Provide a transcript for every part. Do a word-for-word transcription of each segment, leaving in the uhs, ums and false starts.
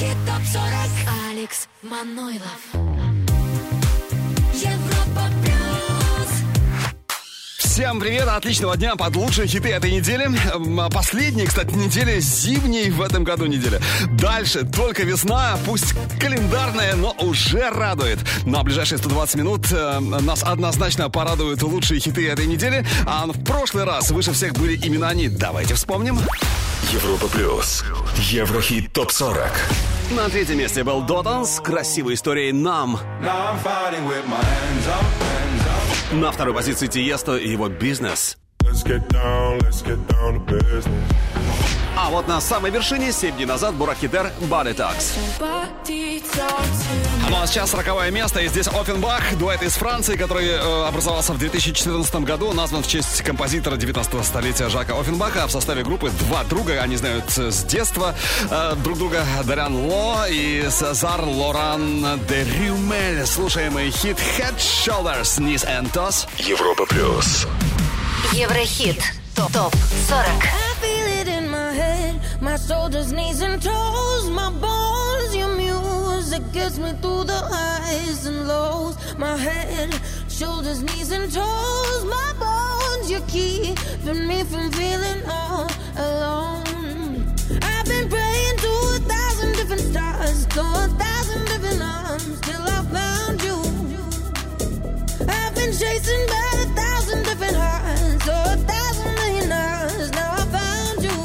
Еврохит топ сорок. Алекс Манойлов. Европа плюс. Всем привет, отличного дня под лучшие хиты этой недели. Последняя, кстати, неделя зимней в этом году неделя. Дальше только весна, пусть календарная, но уже радует. На ближайшие сто двадцать минут нас однозначно порадуют лучшие хиты этой недели. А в прошлый раз выше всех были именно они. Давайте вспомним. Европа плюс. Еврохит топ сорок. На третьем месте был Дотан с красивой историей «Нам». На второй позиции Тиесто и его «Бизнес». А вот на самой вершине семь дней назад Бурак-Хидер «Body Talks». Ну а сейчас сороковое место, и здесь Оффенбах, дуэт из Франции, который э, образовался в две тысячи четырнадцатом году, назван в честь композитора девятнадцатого столетия Жака Оффенбаха. В составе группы два друга, они знают с детства э, друг друга, Дариан Ло и Сезар Лоран де Рюмель. Слушаемый хит Head, Shoulders, Knees and Toes. Европа плюс. Еврохит топ сорок. My shoulders, knees and toes, my bones, your music gets me through the highs and lows. My head, shoulders, knees and toes, my bones, you're keeping me from feeling all alone. I've been praying to a thousand different stars, to a thousand different arms, till I found you. I've been chasing by a thousand different hearts, to a thousand million hours, now I found you.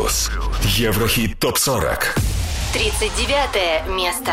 плюс. Еврохит топ сорок. тридцать девятое место.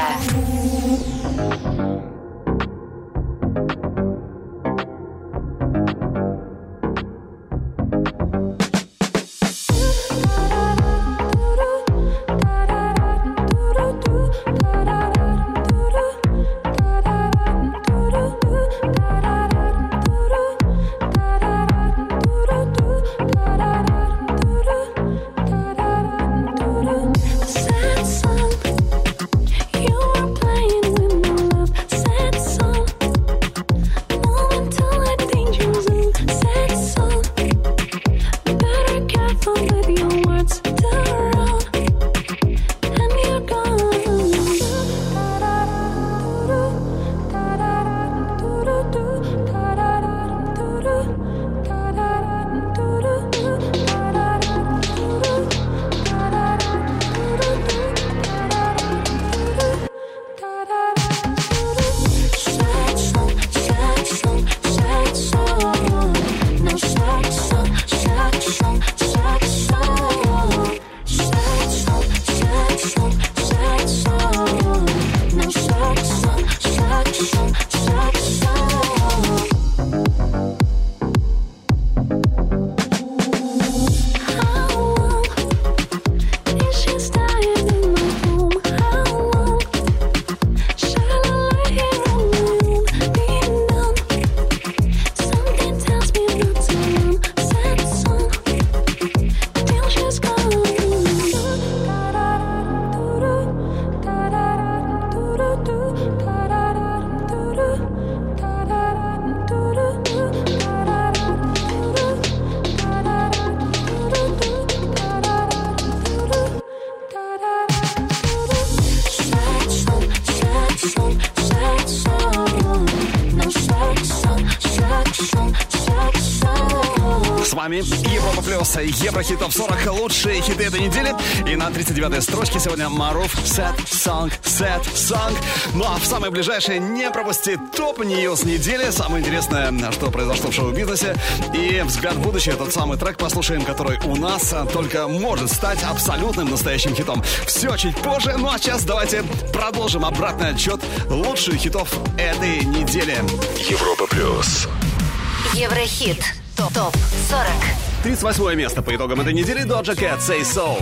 Европа плюс, Еврохит топ сорок, лучшие хиты этой недели. И на тридцать девятой строчке сегодня Марув, Sad Song, Sad Song. Ну а в самое ближайшее не пропусти топ-ньюс недели. Самое интересное, что произошло в шоу-бизнесе. И взгляд в будущее, тот самый трек послушаем, который у нас только может стать абсолютным настоящим хитом. Все чуть позже, ну а сейчас давайте продолжим обратный отчет лучших хитов этой недели. Европа плюс. Еврохит топ сорок. тридцать восьмое место по итогам этой недели. Doja Cat, Say So.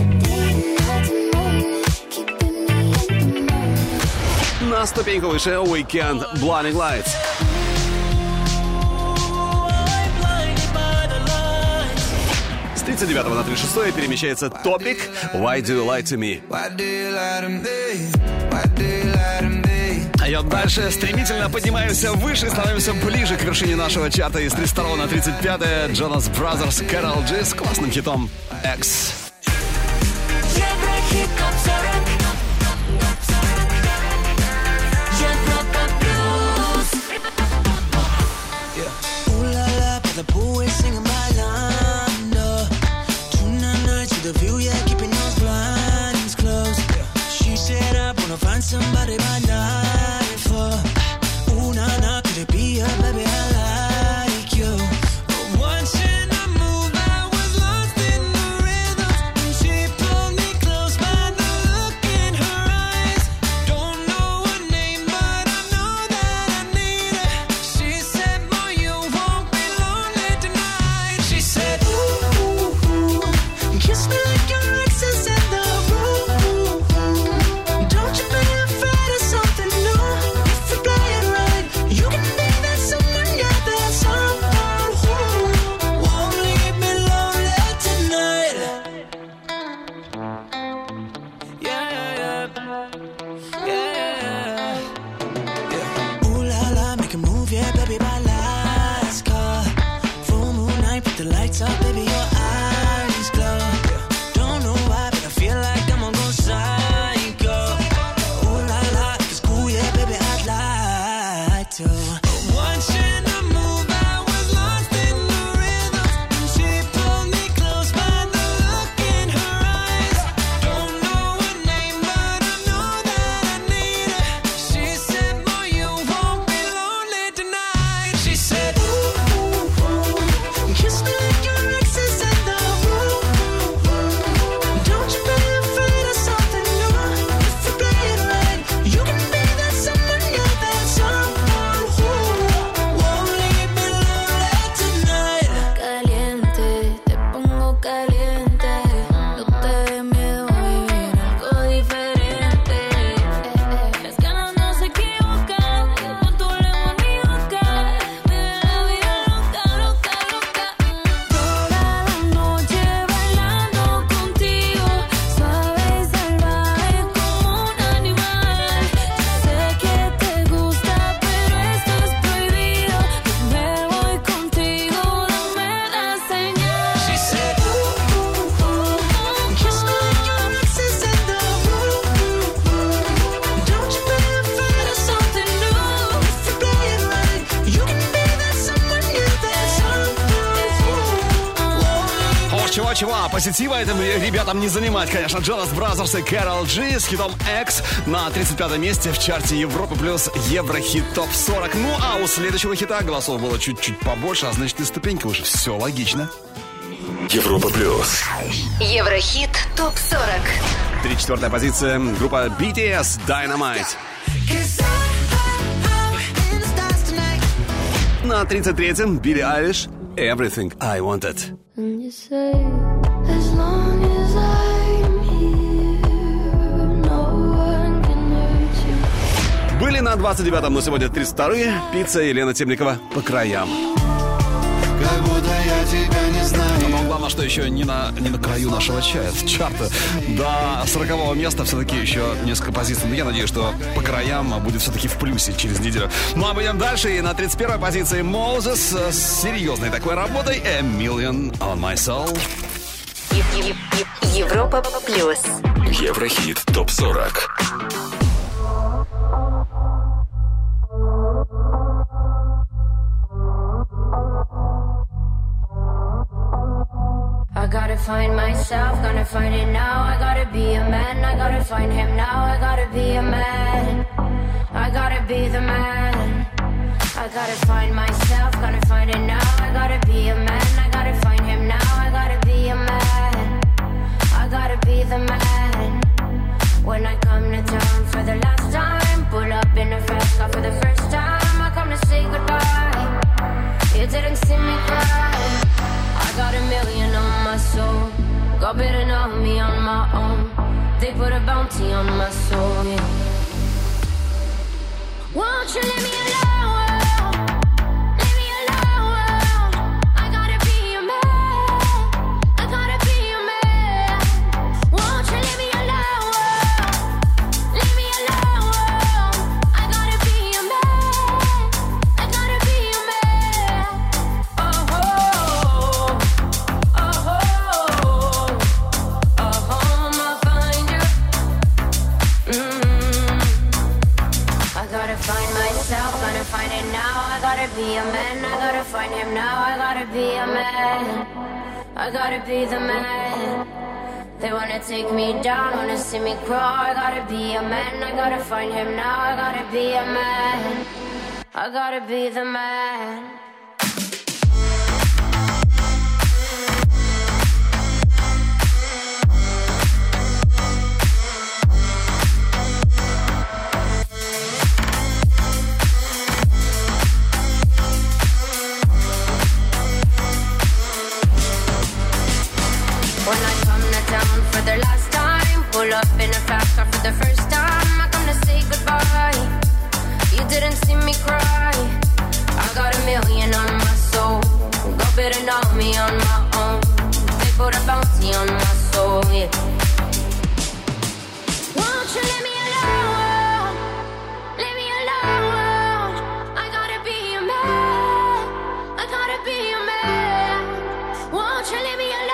На ступеньку выше Weekend, Blinding Lights. С тридцать девятого на тридцать шестое перемещается Topic, Why Do You Lie To Me. А вот дальше стремительно поднимаемся выше и становимся ближе к вершине нашего чарта. Из тридцать второго на тридцать пятое Jonas Brothers, Karol G с классным хитом X. Еврохит топ сорок. Европа плюс. Ooh la la, by the pool, we're singing by Lando. Tonight night to the view, yeah, keeping those blinds closed. She said I wanna find somebody by night. Ooh, nah, nah, could it be her, baby, I like you. But watching her move, I was lost in the rhythm. And she pulled me close by the look in her eyes. Don't know her name, but I know that I need her. She said, boy, you won't be lonely tonight. She said, ooh, ooh, ooh, kiss me like your ex is in the room. Don't you be afraid to ничего, позитива этим ребятам не занимать, конечно. Jonas Brothers и Karol G с хитом X на тридцать пятом месте в чарте Европы плюс Еврохит топ сорок. Ну, а у следующего хита голосов было чуть-чуть побольше, а значит и ступенька уже. Все логично. Европа плюс. Еврохит топ сорок. Три четвертая позиция. Группа би ти эс Dynamite. На тридцать третьем Билли Айлиш Everything I Wanted. Были на двадцать девятом, но сегодня тридцать вторые. Пицца и Лена Темникова «По краям». Как будто я тебя не знаю. Но главное, что еще не на, не на краю нашего чая, чарта. До сорокового места все-таки еще несколько позиций. Но я надеюсь, что «По краям» будет все-таки в плюсе через неделю. Ну а мы идем дальше. И на тридцать первой позиции Moses с серьезной такой работой «A Million on My Soul». Европа плюс. Еврохит топ сорок. I gotta find myself, gonna find it now. I gotta be a man, I gotta find him now. I gotta be a man, I gotta be the man. I gotta find myself, gonna find it now. I gotta be a man, I gotta find him now. I gotta be a man, I gotta be the man. When I come to town for the last time, pull up in a fast car for the first time. I come to say goodbye, you didn't see me cry. I got a million on my soul. God better know me on my own. They put a bounty on my soul, yeah. Won't you leave me alone? Leave me alone. I gotta be your man. I gotta be your man. Won't you leave me alone? Leave me alone. I gotta be your man. I gotta be your man. Oh, oh. Find myself, gonna find it now. I gotta be a man, I gotta find him now. I gotta be a man, I gotta be the man. They wanna take me down, wanna see me crawl. I gotta be a man, I gotta find him now. I gotta be a man, I gotta be the man. When I come to town for the last time, pull up in a fast car for the first time. I come to say goodbye, you didn't see me cry. I got a million on my soul. God better know me on my own. They put a bounty on my soul, yeah. Won't you leave me alone? Leave me alone. I gotta be a man, I gotta be a man. Won't you leave me alone?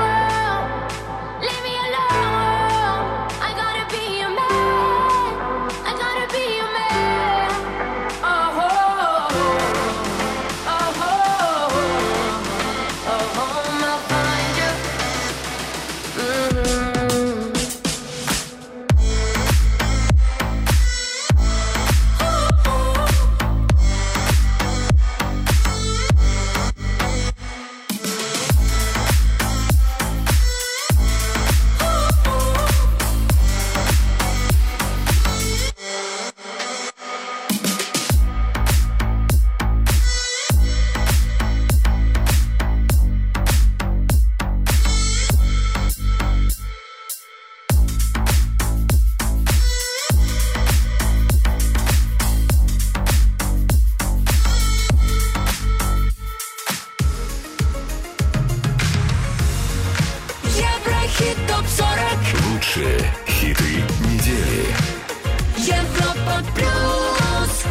Лучшие хиты недели. Европа плюс.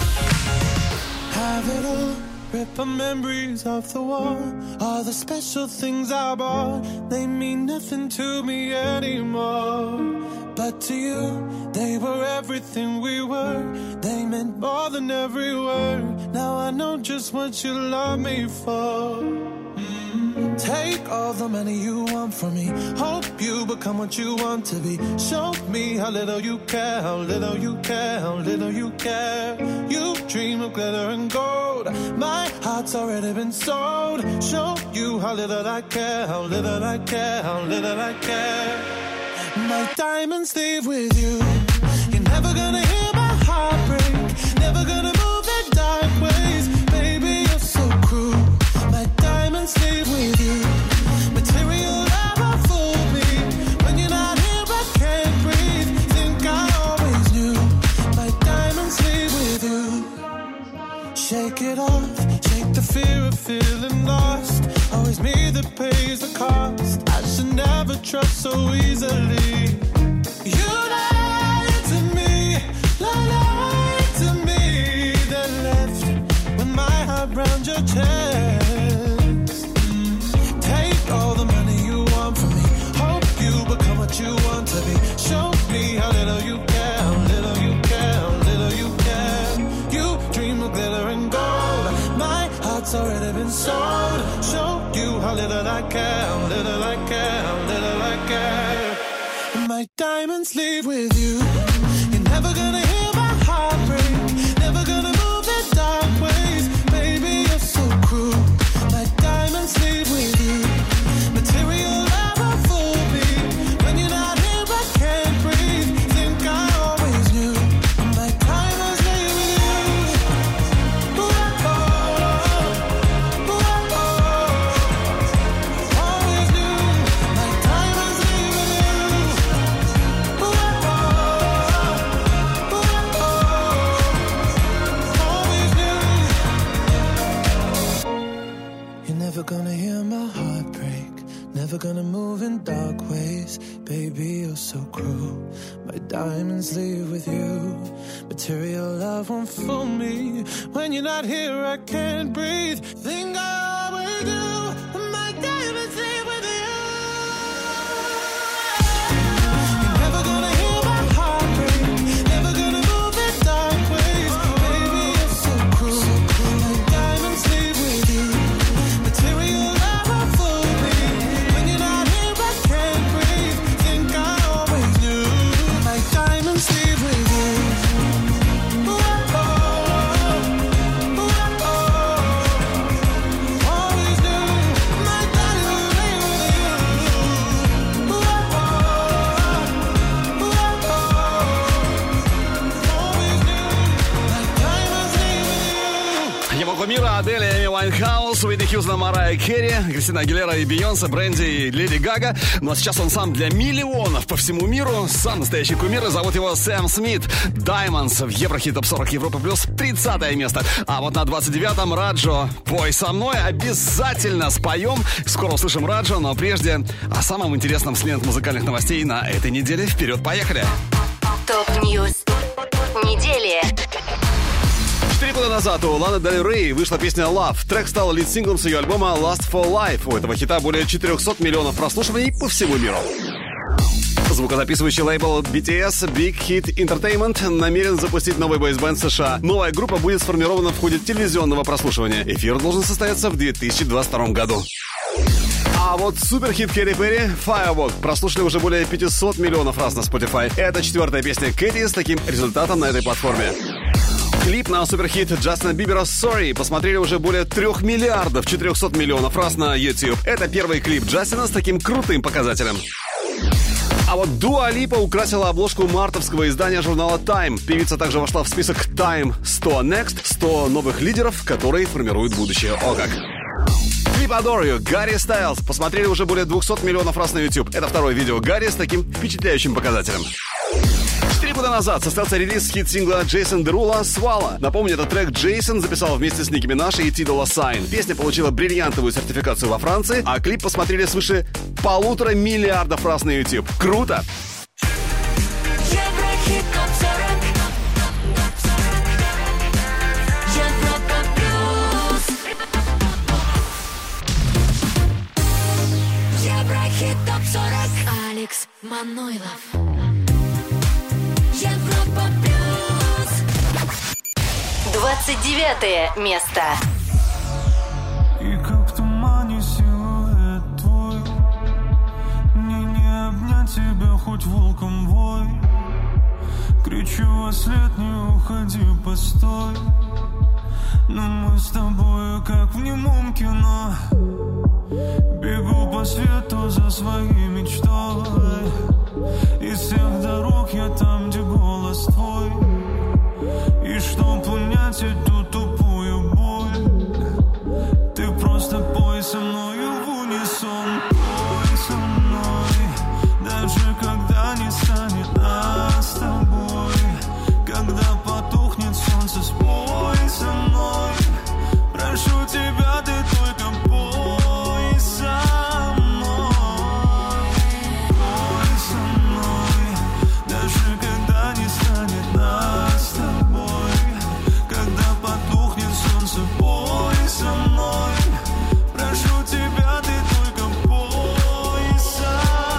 Have it all, rip the memories of the war. All the special things I bought, they mean nothing to me anymore. But to you, they were everything we were. They meant more than every word. Now I know just what you love me for. Mm-hmm. Take all the money you want from me. Hope you become what you want to be. Show me how little you care, how little you care, how little you care. You dream of glitter and gold. My heart's already been sold. Show you how little I care, how little I care, how little I care. My diamonds leave with you. You're never gonna hear my heart break. Never gonna move in dark ways. Baby, you're so cruel. My diamonds leave with you. Material never fooled me. When you're not here, I can't breathe. Think I always knew. My diamonds leave with you. Shake it off. Shake the fear of feeling lost. Always me that pays the cost. I should never trust so easily. You lied to me. Lied to me. Then left with my heart round your chest. Take all the money you want from me. Hope you become what you want to be. Show me how little you care, how little you care, how little you care. You dream of glitter and gold. My heart's already been sold. Show you how little I care, how little I care, how little I care. My diamonds leave with you. You're never gonna hear my heart break. Never gonna move in dark ways. Baby, you're so cruel. My diamonds leave with you. Material never fooled me. When you're not here, I can't breathe. Think I always knew. My diamonds leave with you. Ooh, oh, ooh, oh, always knew. My diamonds leave with you. Ooh, oh, ooh, oh, always knew. You're never gonna hear my heart break. Never gonna move in dark ways. Baby, you're so cruel. My diamonds leave with you. Material love won't fool me. When you're not here, I can't breathe. Think I always do. My diamonds leave with you. You're never gonna hear my heart break. Never gonna move in dark ways. Baby, you're so cruel. My diamonds leave with you. Material never fooled me. When you're not here, I can't breathe. Think I always knew. My diamonds leave with you. Ooh, oh, ooh, oh, always knew. My diamonds leave with you. Ooh, oh, ooh, oh, always knew. My diamonds leave with you. Европа мира, Адель, Эми Уайнхаус, Уитни Хьюстон, Марайя Керри, Кристина Агилера и Бейонсе, Брэнди и Леди Гага. Ну а сейчас он сам для миллионов по всему миру. Сам настоящий кумир, и зовут его Сэм Смит. Diamonds в Еврохит Топ сорок Европа Плюс, тридцатое место. А вот на двадцать девятом Раджо, пой со мной, обязательно споем. Скоро услышим Раджо, но прежде о самом интересном с лент музыкальных новостей на этой неделе. Вперед, поехали! Топ-ньюс недели. Четыре года назад у Ланы Дель Рей вышла песня Love. Трек стал лид-синглом с ее альбома Last for Life. У этого хита более четыреста миллионов прослушиваний по всему миру. Звукозаписывающий лейбл би ти эс Big Hit Entertainment намерен запустить новый бойсбенд США. Новая группа будет сформирована в ходе телевизионного прослушивания. Эфир должен состояться в две тысячи двадцать втором году. А вот суперхит Кэти Перри «Firework» прослушали уже более пятьсот миллионов раз на Spotify. Это четвертая песня Кэти с таким результатом на этой платформе. Клип на суперхит Джастина Бибера «Sorry» посмотрели уже более трех миллиардов четырехсот миллионов раз на YouTube. Это первый клип Джастина с таким крутым показателем. А вот Дуа Липа украсила обложку мартовского издания журнала Time. Певица также вошла в список Time сто Next, сто новых лидеров, которые формируют будущее. О как! Клип Adore You Гарри Стайлз посмотрели уже более двухсот миллионов раз на YouTube. Это второе видео Гарри с таким впечатляющим показателем. Четыре года назад состоялся релиз хит-сингла Джейсон Дерула «Swallow». Напомню, этот трек Джейсон записал вместе с Ники Минаж и Ти Доlla Сайн. Песня получила бриллиантовую сертификацию во Франции, а клип посмотрели свыше полутора миллиардов раз на YouTube. Круто! Еврохит топ сорок. Европа плюс. Еврохит топ сорок. Алекс Манойлов. Европа плюс. Двадцать девятое место. И как в тумане силуэт тебя хоть волком вой. Кричу во след, не уходи, постой. Но мы с тобой как в немом кино. Бегу по свету за своей мечтой. Из всех дорог я там, где голос твой. И чтоб унять эту тупую боль, ты просто пой со мною в унисон. Пой со мной, даже когда не станет нас с тобой. Когда потухнет солнце, спой со мной. Прошу тебя, ты только пой со мной. Пой со мной, даже когда не станет нас с тобой. Когда потухнет солнце, пой со мной. Прошу тебя, ты только пой со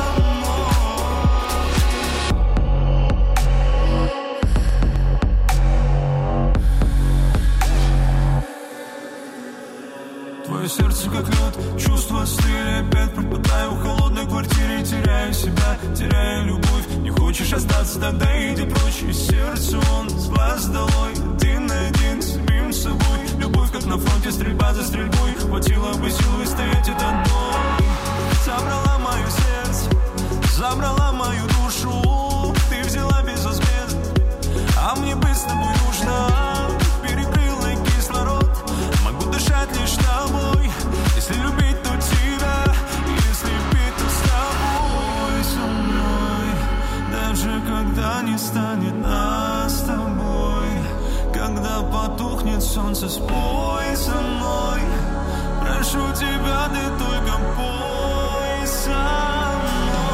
мной. Твое сердце как лед, чувства стыли. Опять пропадаю в холодной квартире. Теряю себя, теряю любовь. Не хочешь остаться, тогда иди прочь. И сердце он с глаз долой. Один на один с самим собой. Любовь как на фронте, стрельба за стрельбой. Хватило бы сил выстоять этот бой. Забрала мое сердце, забрала мою душу. Ты взяла безвозмездно, а мне быть с тобой нужно. Перекрыла кислород, могу дышать лишь тобой. Если любить, то тебя, если пить, то с тобой. Со мной, даже когда не станет нас с тобой. Когда потухнет солнце, спой со мной. Прошу тебя, ты только пой со мной.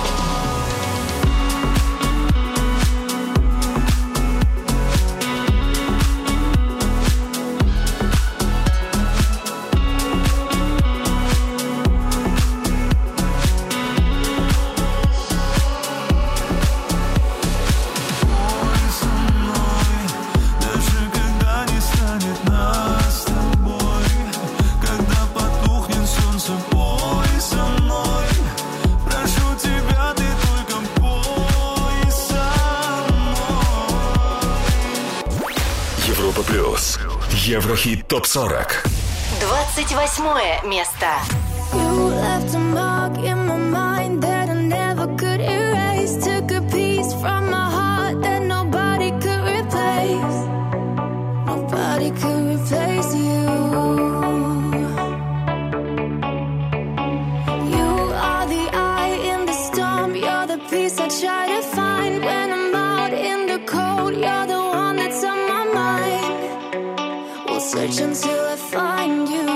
Плюс. Еврохит топ сорок. двадцать восьмое место. You left a mark in my mind that I never could erase. Took a piece from my heart that nobody could replace. Nobody could replace you. You are the eye in the storm. You're the peace I try to find when I'm out in the cold. You're the one that's on my mind. We'll search until I find you.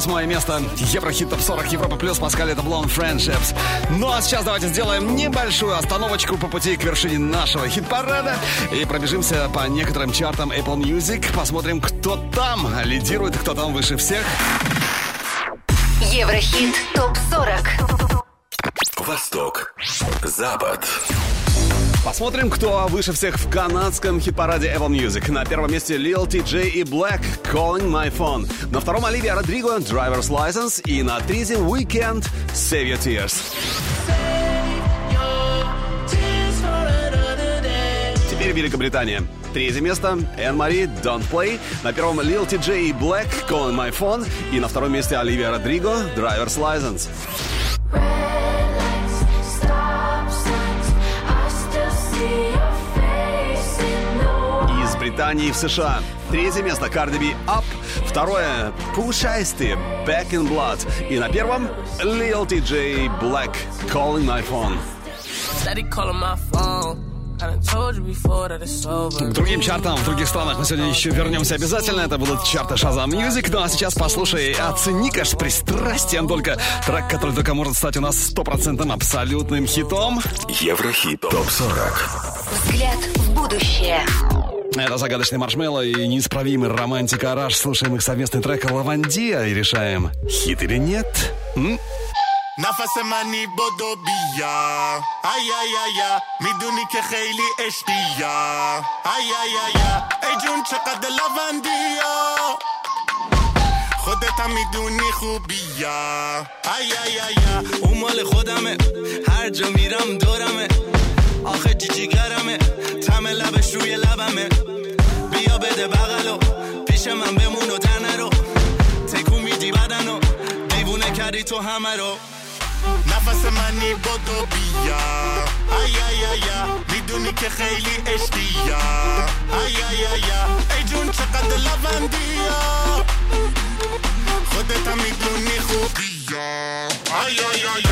восьмое место. Еврохит топ сорок Европа плюс. Паскаль, это Blonde Friendships. Ну а сейчас давайте сделаем небольшую остановочку по пути к вершине нашего хит-парада и пробежимся по некоторым чартам Apple Music. Посмотрим, кто там лидирует, кто там выше всех. Еврохит топ сорок. Восток, Запад. Посмотрим, кто выше всех в канадском хит-параде Apple Music. На первом месте Lil Ти Джей и Black, Calling My Phone. На втором Оливия Родриго, Driver's License. И на третьем Weekend, Save Your Tears. Теперь Великобритания. Третье место Энн Мари, Don't Play. На первом Lil Ти Джей и Black, Calling My Phone. И на втором месте Оливия Родриго, Driver's License. Из Британии в США. Третье место Cardi B, Up. Второе Push Ice-T, Back in Blood. И на первом Lil Ти Джей, Black, Calling My Phone. К другим чартам в других странах мы сегодня еще вернемся обязательно. Это будут чарты Shazam Music. Ну а сейчас послушай, оцени-ка с пристрастием только трек, который только может стать у нас стопроцентным абсолютным хитом. Еврохит топ сорок. Взгляд в будущее. Это загадочный Маршмелло и неисправимый романтик Араш. Слушаем их совместный трек «Лавандия» и решаем, хит или нет. М? نفس منی بدو بیا ای ای ای میدونی که خیلی عشقیا ای ای ای ای جون چقدر لوندیا خودت هم میدونی خوبیا ای ای ای اون مال خودمه هر جا میرم دورمه آخه جیجی گرمه تم لبش روی لبمه بیا بده بغلو پیش من بمون و تنه رو تکون میدی بدنو دیوونه کردی تو همه رو نفس منی بدو بیا ای ای ای میدونی که خیلی عشقیا ای ای ای ای جون چقدر لوندیا خودت هم میدونی خوبیا ای ای ای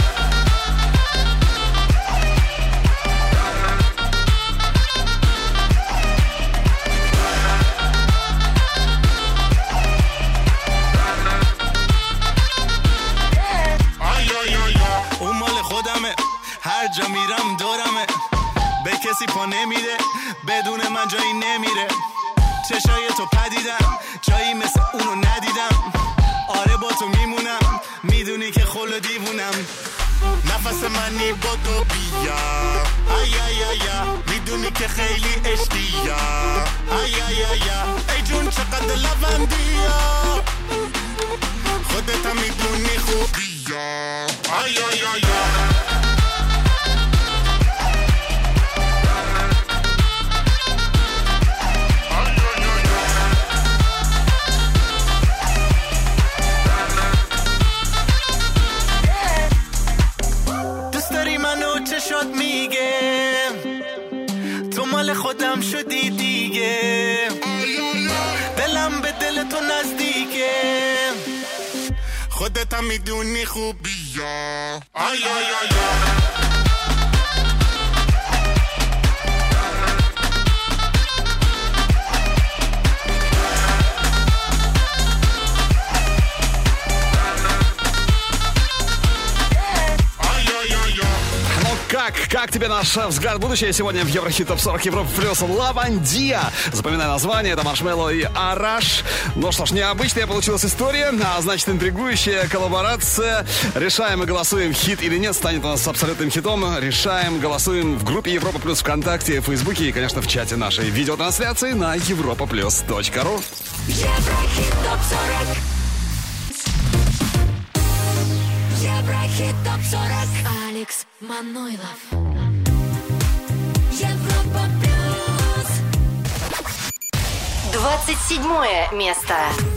هر جا میرم دورمه به کسی پا نمیده بدون من جایی نمیره چشای تو پدیدم جایی مثل اونو ندیدم آره با تو میمونم میدونی که خل دیوونم نفس منی بدو بیا ای ای ای میدونی که خیلی عشقیا ای ای ای ای جون چقدر لوندیا خودت هم میدونی خوبیا ای ای ای شد میگه تو مال خودم شدی دیگه دلم به دل تو نزدیکه خودت هم میدونی خوبیا آی آی آی Как, как тебе наш взгляд в будущее сегодня в Еврохит топ сорок Европа плюс «Лавандия». Запоминай название, это Маршмелло и Араш. Ну что ж, необычная получилась история, а значит интригующая коллаборация. Решаем и голосуем, хит или нет, станет у нас абсолютным хитом. Решаем, голосуем в группе Европа плюс ВКонтакте, в Фейсбуке и, конечно, в чате нашей видеотрансляции на европа плюс точка ру. Еврохит топ сорок. Еврохит топ сорок. Алекс Манойлов. Европа плюс. двадцать седьмое место.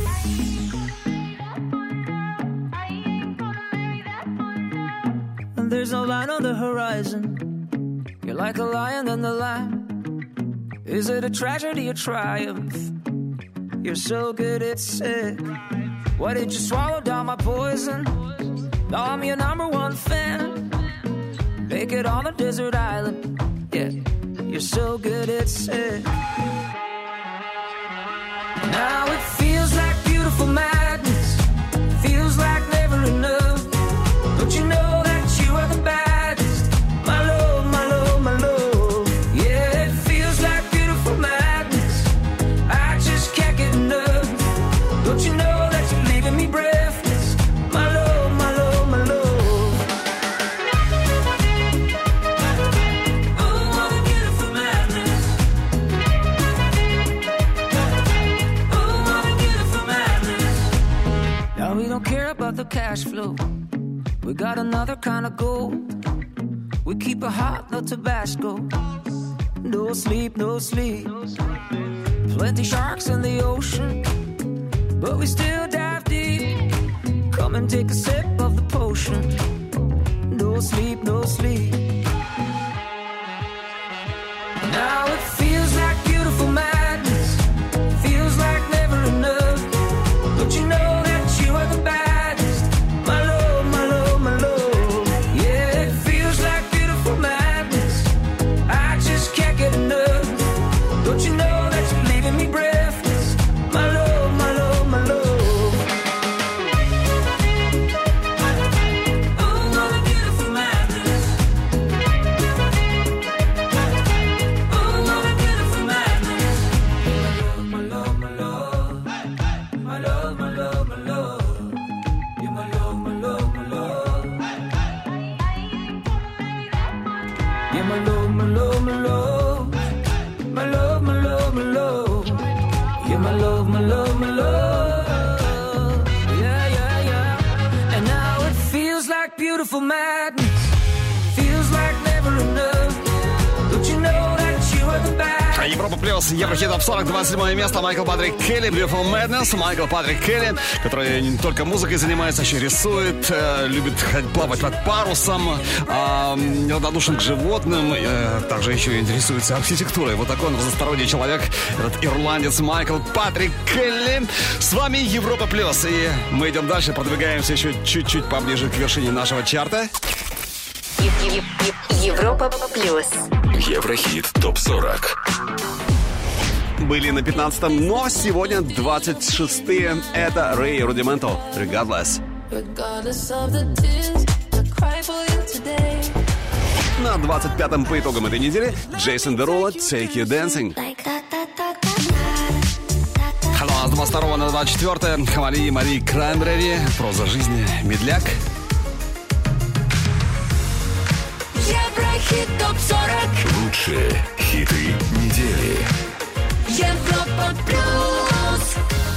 There's no line on the horizon. You're like a lion in the lamb. Is it a tragedy or triumph? You're so good it's sick. Why did you swallow down my poison? Now I'm your number one fan. Make it on a desert island. Yeah, you're so good it's sick. Now it feels like beautiful madness. another kind of gold. We keep it hot, no Tabasco. No sleep, no sleep. Plenty sharks in the ocean, but we still dive deep. Come and take a sip of the potion. No sleep, no sleep. Now it feels like beautiful madness. Feels like never enough. Don't you know that you are the baddest? My love, my love, my love. Yeah, it feels like beautiful madness. I just can't get enough. Don't you know that you're leaving me breathless? My love, my love, my love. Beautiful madness feels like never enough. Don't you know that you are the best? Европа плюс, Еврохит топ сорок, двадцать седьмое место. Майкл Патрик Келли, Beautiful Madness. Майкл Патрик Келли, который не только музыкой занимается, еще рисует, э, любит плавать под парусом, э, неравнодушен к животным, э, также еще интересуется архитектурой. Вот такой он разносторонний человек, этот ирландец Майкл Патрик Келли. С вами Европа плюс, и мы идем дальше, продвигаемся еще чуть-чуть поближе к вершине нашего чарта. Европа плюс. Еврохит топ сорок. Были на пятнадцатом, но сегодня двадцать шестые. Это Рэй Рудименто, Regardless. На двадцать пятом по итогам этой недели Джейсон Дерула, Take You Dancing. С двадцать второго на двадцать четвёртое Хамали и Мари Краймбрери, Проза жизни, Медляк. Еврохит топ сорок. Лучшие хиты недели. Европа плюс.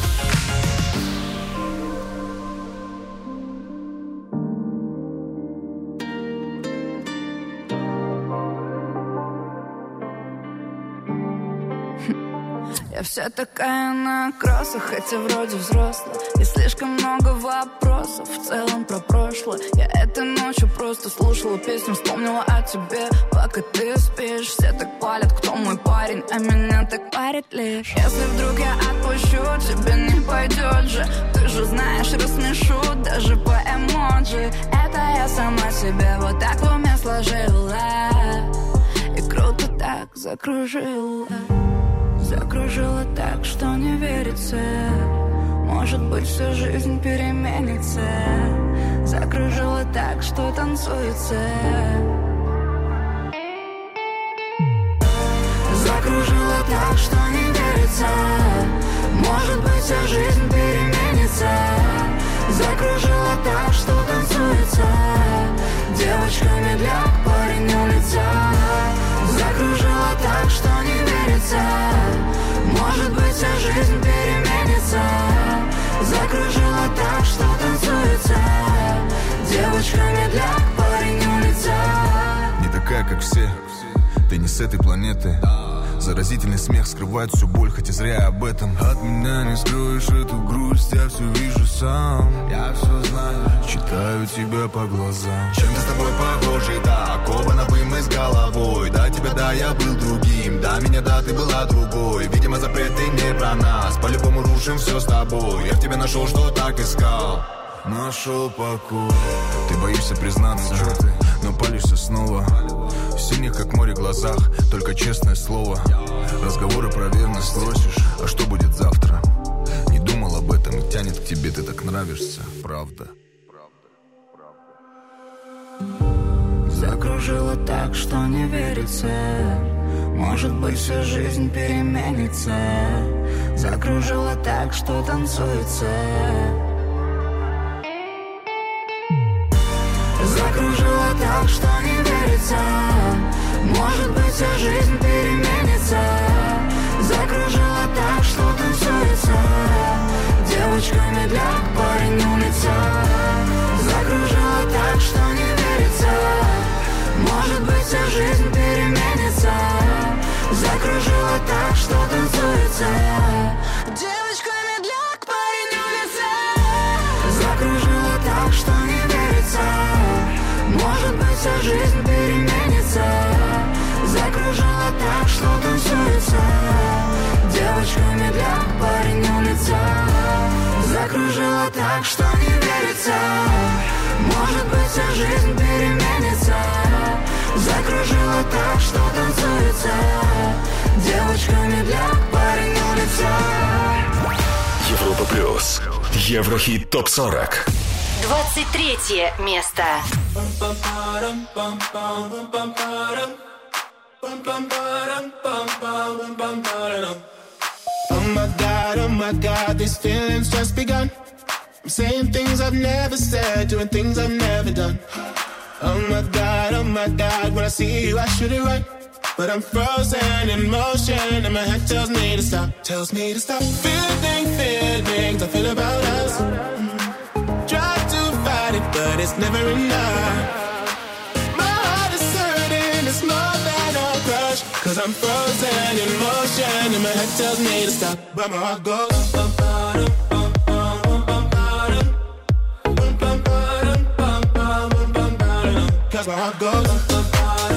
Я вся такая на кроссах, хотя вроде взрослая. И слишком много вопросов в целом про прошлое. Я этой ночью просто слушала песню, вспомнила о тебе. Пока ты спишь, все так палят, кто мой парень, а меня так парит лишь. Если вдруг я отпущу, тебе не пойдет же. Ты же знаешь, рассмешу даже по эмоджи. Это я сама себе вот так в уме сложила. И круто так закружила. Закружила так, что не верится. Может быть, всю жизнь переменится. Закружила так, что танцуется. Закружила так, что не верится. Может быть, вся жизнь переменится. Закружила так, что танцуется. Девочка медляк, парень улица. Закружила так, что не верится. Может быть, вся жизнь переменится. Закружила так, что танцуется. Девочка медляк, парень улица. Не такая, как все. Ты не с этой планеты. Заразительный смех скрывает всю боль, хотя зря я об этом. От меня не скроешь эту грусть, я все вижу сам. Я все знаю, читаю тебя по глазам. Чем-то с тобой похожи, да, оковано бы мы с головой. Да, тебя, да, я был другим, да, меня, да, ты была другой. Видимо, запреты не про нас, по-любому рушим все с тобой. Я в тебе нашел, что так искал. Нашел покой. Ты боишься признаться, что ты, но палишься снова. В синих, как море, глазах, только честное слово. Разговоры про верность спросишь, а что будет завтра? Не думал об этом и тянет к тебе, ты так нравишься, правда. Закружила так, что не верится. Может быть, всю жизнь переменится. Закружила так, что танцуется. Закружила так, что не верится. Может быть, вся жизнь переменится. Закружила так, что танцуется. Девочка медляк, парень улица. Закружила так, что не Закружила так, что танцуется. Девочка медляк, парень улица. Закружила так, что не верится. Может быть, вся жизнь переменится. Закружила так, что танцуется. Девочка медляк, парень улица. Закружила так, что не верится. Может быть, вся жизнь переменится. Закружила так, что танцуется. Девочка медляк, парень улица. Европа плюс. Еврохит топ сорок. двадцать третье место. Oh my God, oh my God, these feelings just begun. I'm saying things I've never said, doing things I've never done. Oh my God, oh my God, when I see you I should it right. But I'm frozen in motion and my head tells me to stop, tells me to stop. Feeling, feelings I feel about us. Mm. Try to fight it, but it's never enough. My heart is hurting, it's more than a crush. Cause I'm frozen in motion and my head tells me to stop, but my heart goes bum, bum, bum, bum, bum, bum, bum, bum, bum, bum, bum, bum, cause my heart goes bum, bum,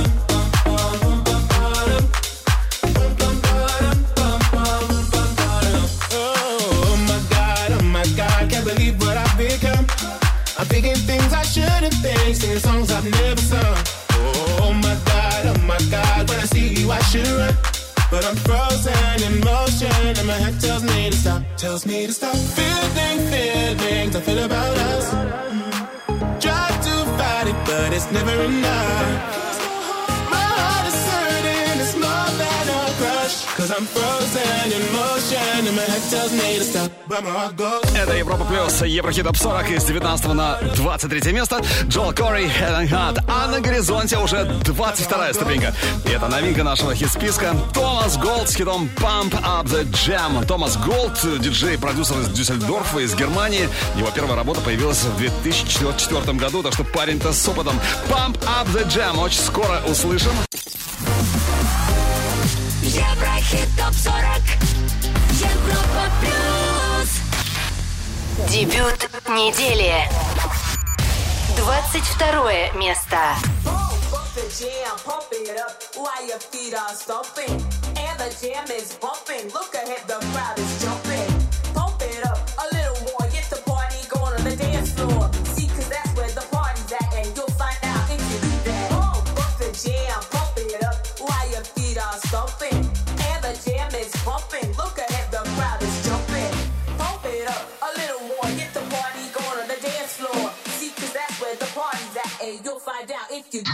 believe what I've become. I'm thinking things I shouldn't think, singing songs I've never sung. Oh my God, oh my God, when I see you I should run. But I'm frozen in motion and my head tells me to stop, tells me to stop. Feeling, feelings I feel about us. Mm. Try to fight it, but it's never enough. My heart is hurting, it's more than a crush. Cause I'm frozen in motion and my head tells me to stop, but my heart goes. Это Европа плюс, Еврохит топ сорок из девятнадцатого на двадцать третье место. Джоэл Кори, Head and Heart. А на горизонте уже двадцать вторая ступенька. И это новинка нашего хит-списка. Томас Голд с хитом Pump Up The Jam. Томас Голд, диджей-продюсер из Дюссельдорфа, из Германии. Его первая работа появилась в две тысячи четвёртом году, так что парень-то с опытом. Pump Up The Jam. Очень скоро услышим. Еврохит топ сорок. Европа плюс. Дебют недели. двадцать второе место. You'll find out if you do.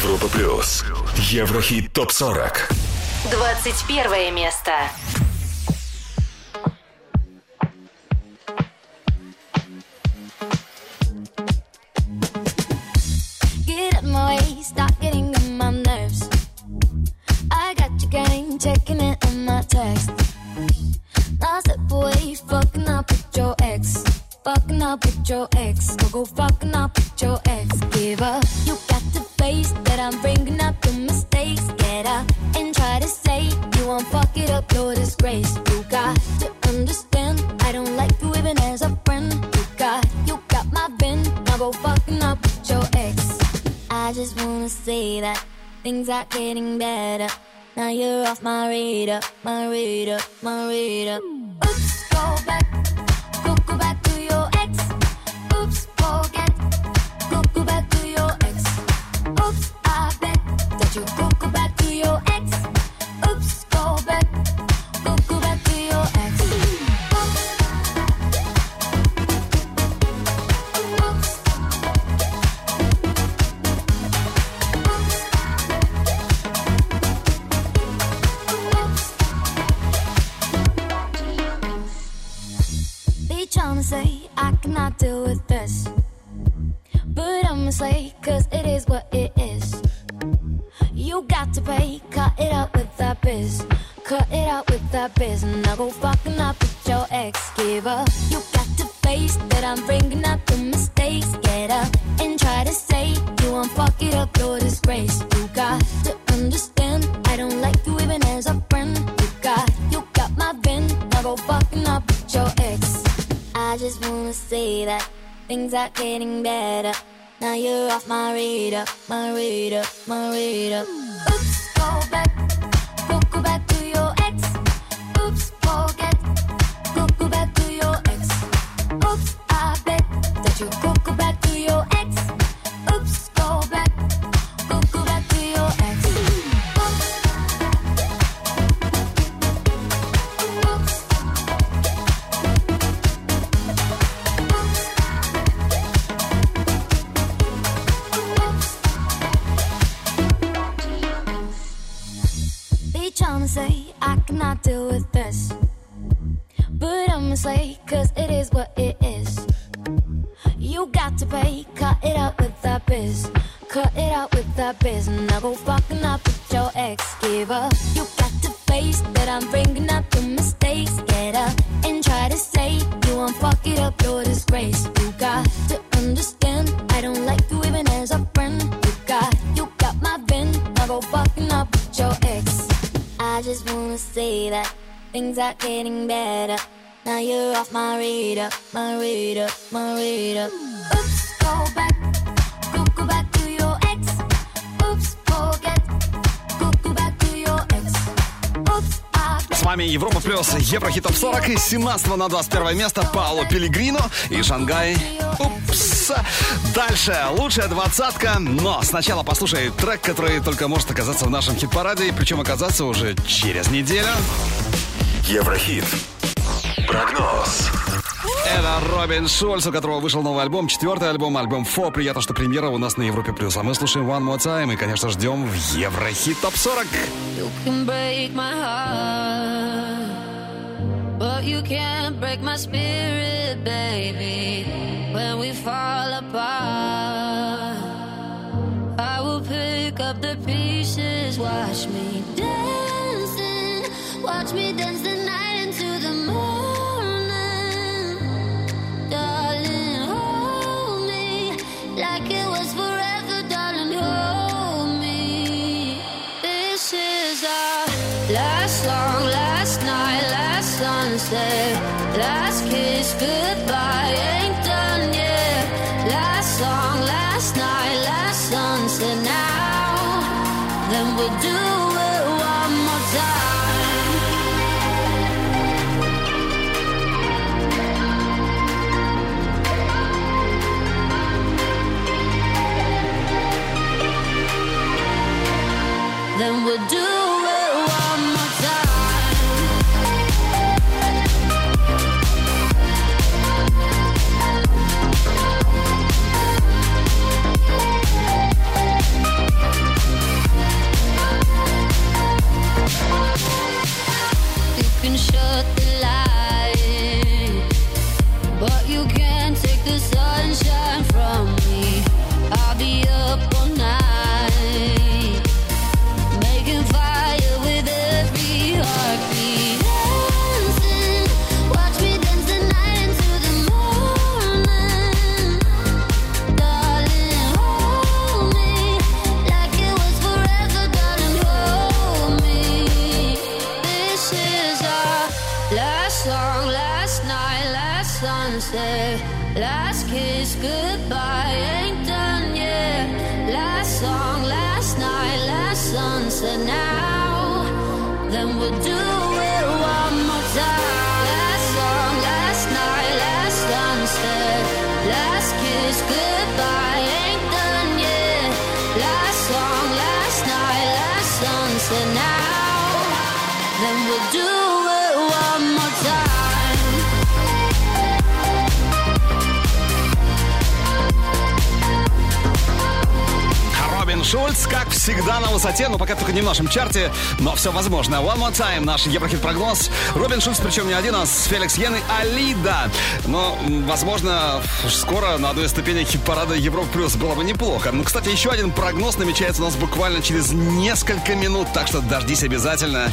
Европа плюс. Еврохит топ сорок. двадцать первое место. Get up my way, stop getting on my nerves. I got your game, checking it on my text. Now step away, fucking up with your ex. Fucking up with your ex. Go go fucking up with your ex. Give up. You got to face that I'm bringing up your mistakes. Get up and try to say you won't fuck it up, your disgrace. You got to understand I don't like you even as a friend. You got, you got my bin. Now go fucking up with your ex. I just wanna say that things are getting better. Now you're off my radar, my radar, my radar. Oops, go back, go go back to your ex. Oops, forget, go go back to your ex. Oops, I bet that you go go back to your ex. Oops, go back, go go back to your ex. Oops, oops. They tryna say I cannot deal with this, but I'ma say cause it is what it is. You got to pay, cut it out with that biz. Cut it out with that biz. Now go fucking up with your ex. Give up. You got to face that I'm bringing up the mistakes. Get up and try to say you won't fuck it up, your disgrace. You got to understand I don't like you even as a friend. You got, you got my bin. Now go fucking up with your ex. I just wanna say that things are getting better. Now you're off my radar, my radar, my radar. Oops, go back, go go back to your ex. Oops, forget, go go back to your ex. Oops, I bet that you go go back to your ex. Oops, go back, go go back to your ex. Oops, oops. They tryna say I cannot deal with this, but I'ma say cause it is what it is. You got to pay, cut it out with that biz. Cut it out with that biz. Now go fucking up with your ex. Give up. You got to face that I'm bringing up the mistakes. Get up and try to say you won't fuck it up, your disgrace. You got to understand I don't like you even as a friend. You got, you got my bin. Now go fucking up with your ex. I just wanna say that things are getting better. Now you're off my radar, my radar, my radar. Oops, go back, go go back to your ex. Oops, forget, go go back to your ex. Oops, I bet. С вами Европа плюс Еврохит топ сорок. С семнадцатого на двадцать первое место Паоло Пеллегрино и Шангай. Упс. Дальше лучшая двадцатка. Но сначала послушай трек, который только может оказаться в нашем хит-параде. Причем оказаться уже через неделю. Еврохит. Прогноз. Это Робин Шульц, у которого вышел новый альбом, четвертый альбом, альбом Фо. Приятно, что премьера у нас на Европе плюс. А мы слушаем One More Time и, конечно, ждем в Еврохит топ сорок. You can break my heart, but you can't break my spirit, baby. When we fall apart, I will pick up the pieces. Watch me dancing, watch me dance the night into the morning. Darling, hold me like it was forever, darling, hold me. This is our last song, last night, last sunset, last kiss, goodbye, ain't done yet. Last song, last night, last sunset, now, then we'll do it one more time. Then we'll do it one more time. kiss goodbye ain't done yet. Last song, last night, last sunset now. Then we'll do it one more time. Last song, last night, last sunset. Last kiss goodbye ain't done yet. Last song, last night, last sunset now. Then we'll do it one more time. Робин Шульц, как всегда, на высоте, но пока только не в нашем чарте, но все возможно. One More Time, наш Еврохит-прогноз. Робин Шульц, причем не один, а с Феликс Йен и Алида. Но, возможно, скоро на одной из ступенек хит-парада Европа Плюс было бы неплохо. Ну, кстати, еще один прогноз намечается у нас буквально через несколько минут, так что дождись обязательно.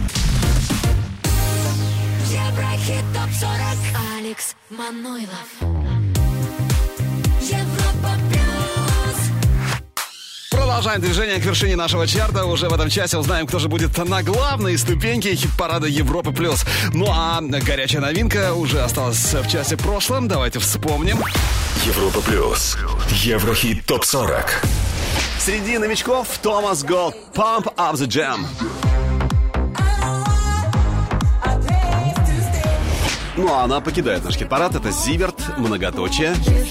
Еврохит топ сорок. Алекс Манойлов. Европа плюс. Продолжаем движение к вершине нашего чарта. Уже в этом часе узнаем, кто же будет на главной ступеньке хит-парада Европа Плюс. Ну а горячая новинка уже осталась в часе прошлом. Давайте вспомним. Европа Плюс. Еврохит топ сорок. Среди новичков Томас Голд, Pump Up the Jam. Ну а она покидает наш хит-парад. Это Зиверт, многоточие.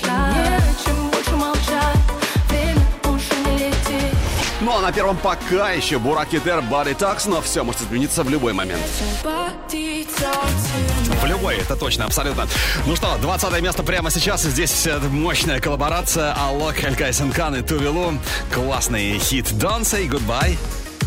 Ну а на первом пока еще Бурак Китер, Body Talks, но все может измениться в любой момент. В любой, это точно, абсолютно. Ну что, двадцатое место прямо сейчас. Здесь мощная коллаборация Алок, Элькай Сенкан и Тувелу. Классный хит Don't Say Goodbye.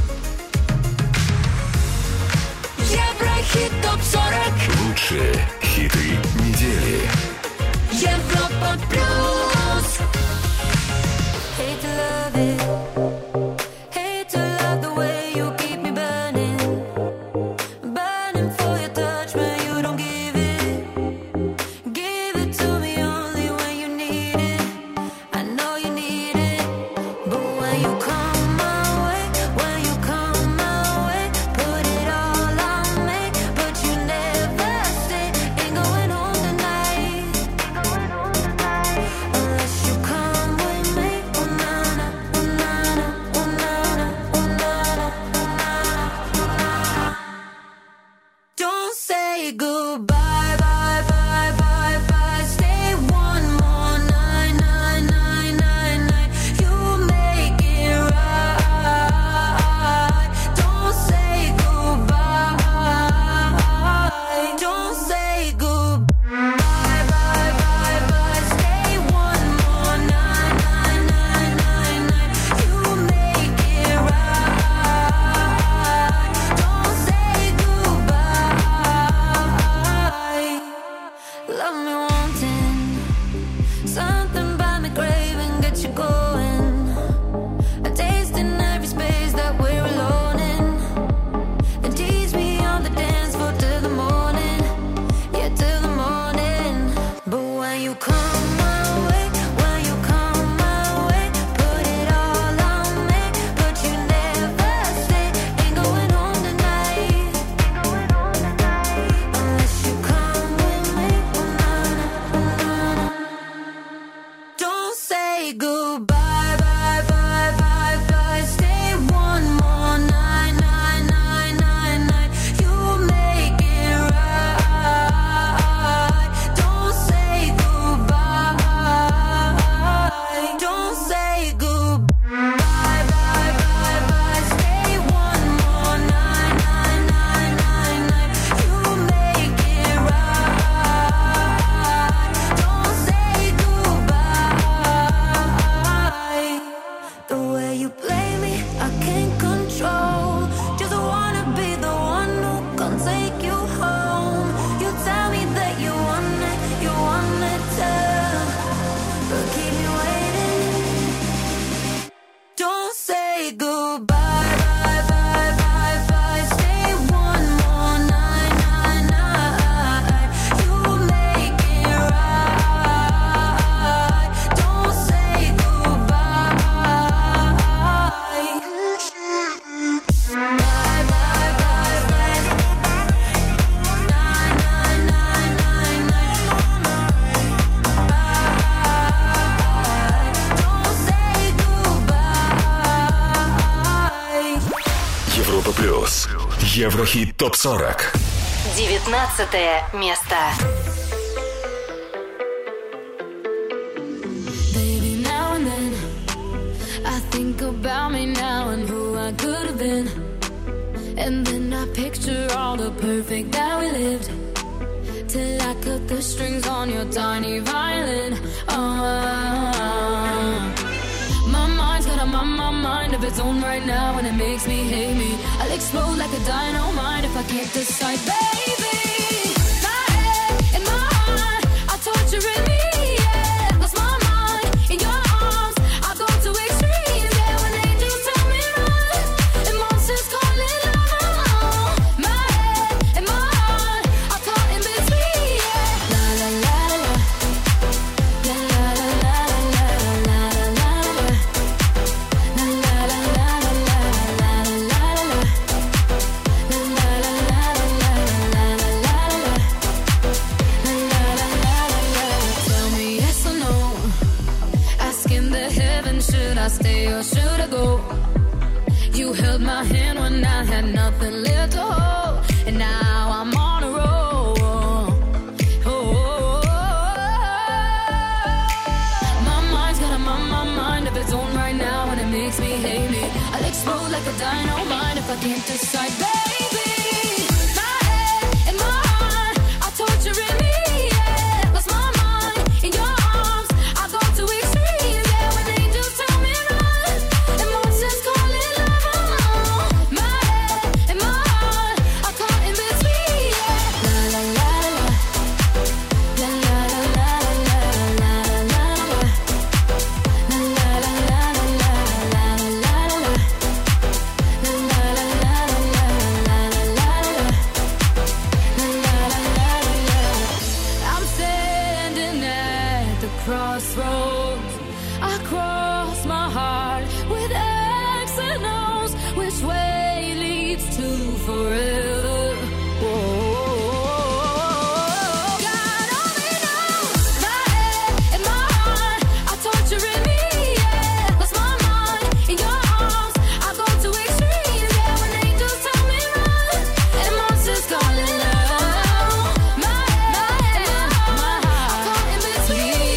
Еврохит топ сорок. Лучшие хиты недели. Европа плюс. Hate to love it. плюс. Еврохит топ сорок. девятнадцатое место. Baby, now and then I think about me now and who I could have been. And then I picture all the perfect that we lived. Till I cut the strings on your tiny violin. Oh, my mind's got a my, my mind of its own right now, and it makes me hate me. I'll explode like a dynamite if I can't decide, baby. My head and my heart are torturing me. Yeah, lost my mind in your arms. I go to extremes. Yeah, when angels tell me run and monsters call it love. My head and my heart are caught in between. Yeah, la la la la, la la la la la la la. Should I stay or should I go? You held my hand when I had nothing left to hold, and now I'm on a roll. Oh, my mind's got a my, my mind of its own right now, and it makes me hate me. I'll explode like a dynamite if I can't decide, baby. My head and my heart are torturing me. Yeah, lost my mind in your arms. I go to extremes. Yeah, when angels tell me run and monsters call it love. My head and my heart are caught in between. Yeah, la la la la, la la la la la la la, la la la la la la la la. I'm standing at the crossroads. I cross my heart with X and O's. Which way leads to forever? God only knows. My head and my heart are torturing me. Yeah, lost my mind in your arms. I go to extremes. Yeah, when angels tell me run and monsters call it love. My head and my heart are caught in between.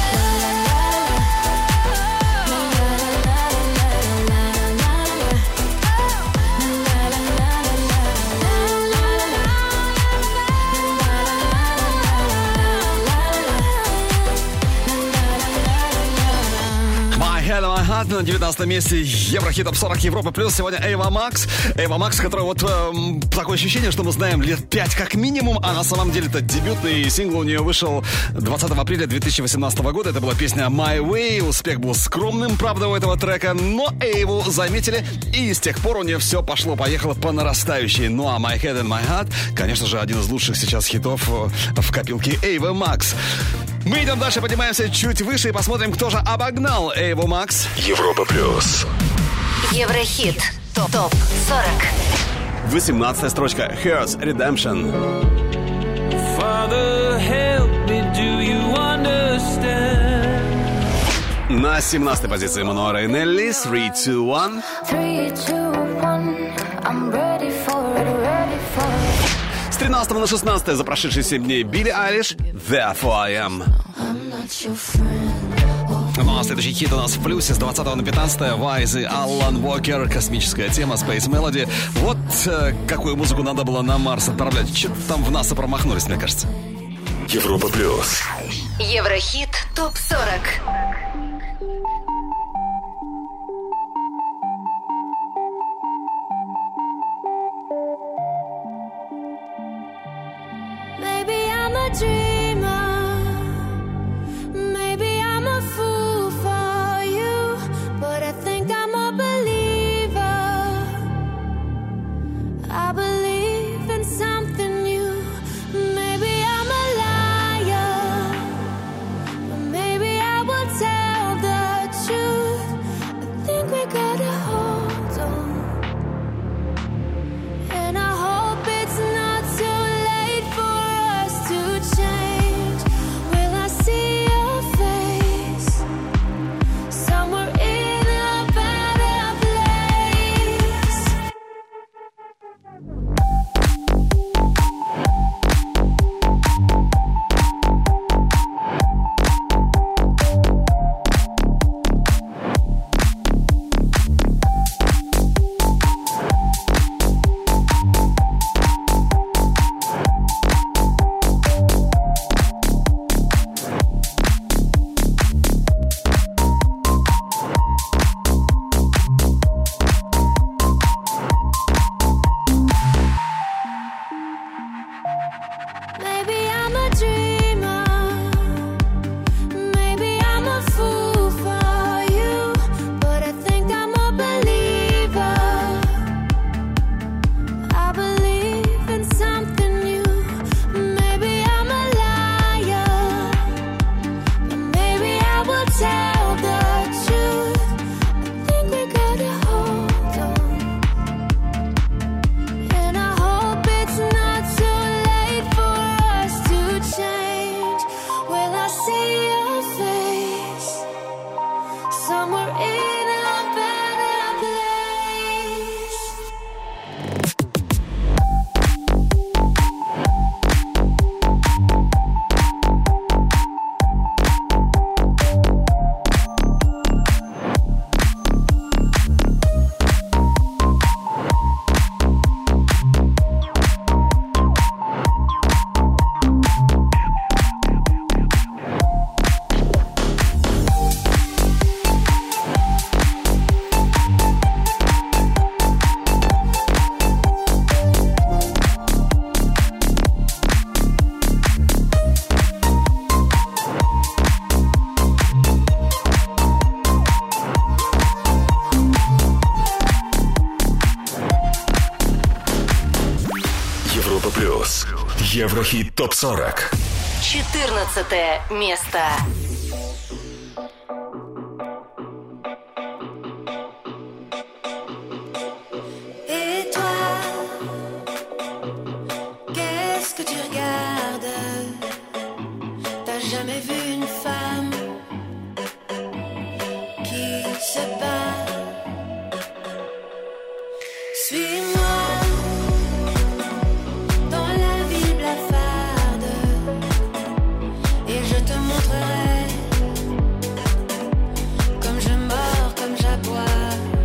My Head, My Heart на девятнадцатом месте Еврохит топ сорок Европа плюс. Сегодня Эйва Макс. Эйва Макс, которая вот эм, такое ощущение, что мы знаем лет пять как минимум, а на самом деле это дебютный сингл у нее вышел двадцатого апреля две тысячи восемнадцатого года. Это была песня My Way. Успех был скромным, правда, у этого трека, но Эйву заметили, и с тех пор у нее все пошло-поехало по нарастающей. Ну а My Head and My Heart, конечно же, один из лучших сейчас хитов в копилке Эйвы Макс. Мы идем дальше, поднимаемся чуть выше и посмотрим, кто же обогнал Эйву Макс. Европа плюс. Еврохит топ сорок. восемнадцатая строчка. Here's Redemption. Father, help me, do you understand? На семнадцатой позиции Мануа Рейнелли. three, two, one. Three, two, one. I'm ready for it, ready for it. С тринадцатого на шестнадцатое за прошедшие семь дней Билли Айлиш. Therefore I am. I'm not your friend. Ну а следующий хит у нас в плюсе с двадцатого на пятнадцатое. Вайз и Аллан Уокер. Космическая тема, Space Melody. Вот э, какую музыку надо было на Марс отправлять. Что-то там в НАСА промахнулись, мне кажется. Европа плюс. Еврохит топ сорок. Maybe I'm a dreamer. Maybe I'm a fool for you. But I think I'm a believer. I believe in something new. Maybe I'm a liar. But maybe I will tell Еврохит топ сорок. четырнадцатое место. Et toi, qu'est-ce que tu regardes? T'as jamais vu une femme qui se bat? Suis-moi dans la ville blafarde et je te montrerai comme je mords, comme j'aboie.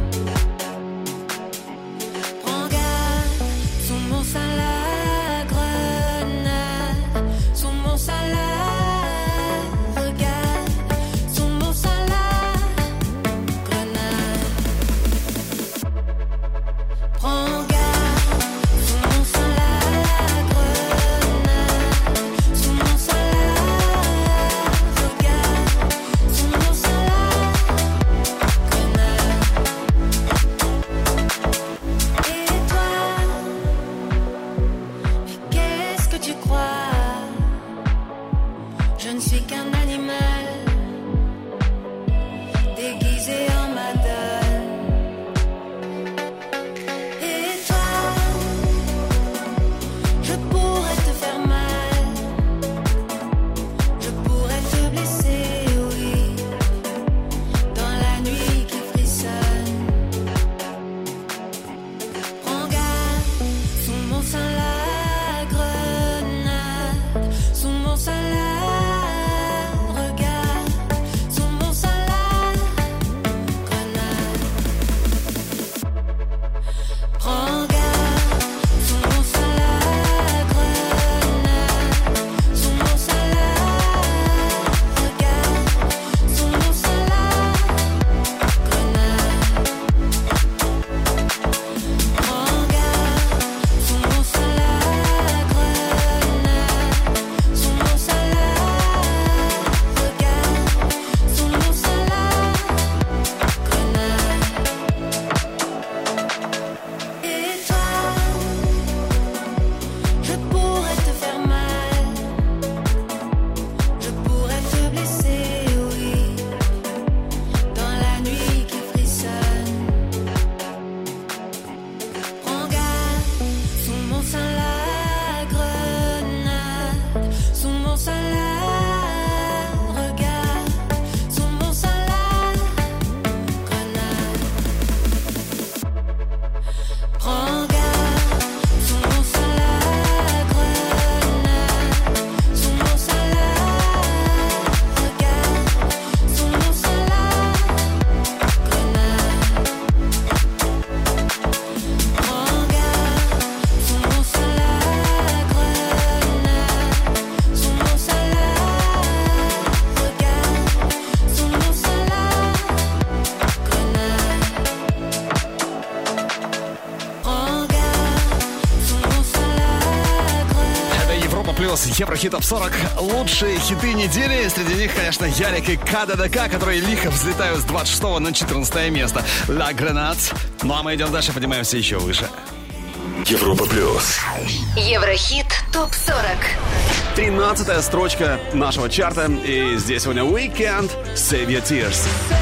Prends garde, sous mon sein la grenade, sous mon sein la regarde, sous mon sein la grenade. Prends garde, sous mon sein la grenade, sous mon sein la regarde, sous mon sein la grenade. Et toi, mais qu'est-ce que tu crois? Je ne suis qu'un animal déguisé en madone. Et toi, je pourrais te faire mal, je pourrais te blesser, oui, dans la nuit qui frissonne. Prends garde, sous mon sein la grenade, sous mon sein la regarde, sous mon sein la grenade. Prends garde, sous mon sein la grenade, sous mon sein la regarde, sous mon sein la grenade. Prends garde, sous mon sein la grenade, sous mon sein la regarde, sous mon sein la grenade. Et toi, je pourrais te faire mal, je pourrais te blesser, oui, dans la nuit qui frissonne. Prends garde, sous mon sein la grenade, sous mon sein la regarde, sous mon sein la grenade. Prends garde, sous mon sein la grenade, sous mon sein la regarde, sous mon sein la grenade. Prends garde, sous mon sein la grenade, sous mon sein la regarde, sous mon sein la grenade. Prends garde, sous mon sein la grenade. Это Европа плюс Еврохит топ сорок. Лучшие хиты недели. Среди них, конечно, Ярик и КДДК, которые лихо взлетают с двадцать шестого на четырнадцатое место. Ла Гранат. Ну а мы идем дальше, поднимаемся еще выше. Европа плюс. Еврохит топ сорок. тринадцатая строчка нашего чарта. И здесь сегодня Weekend Save Your Tears.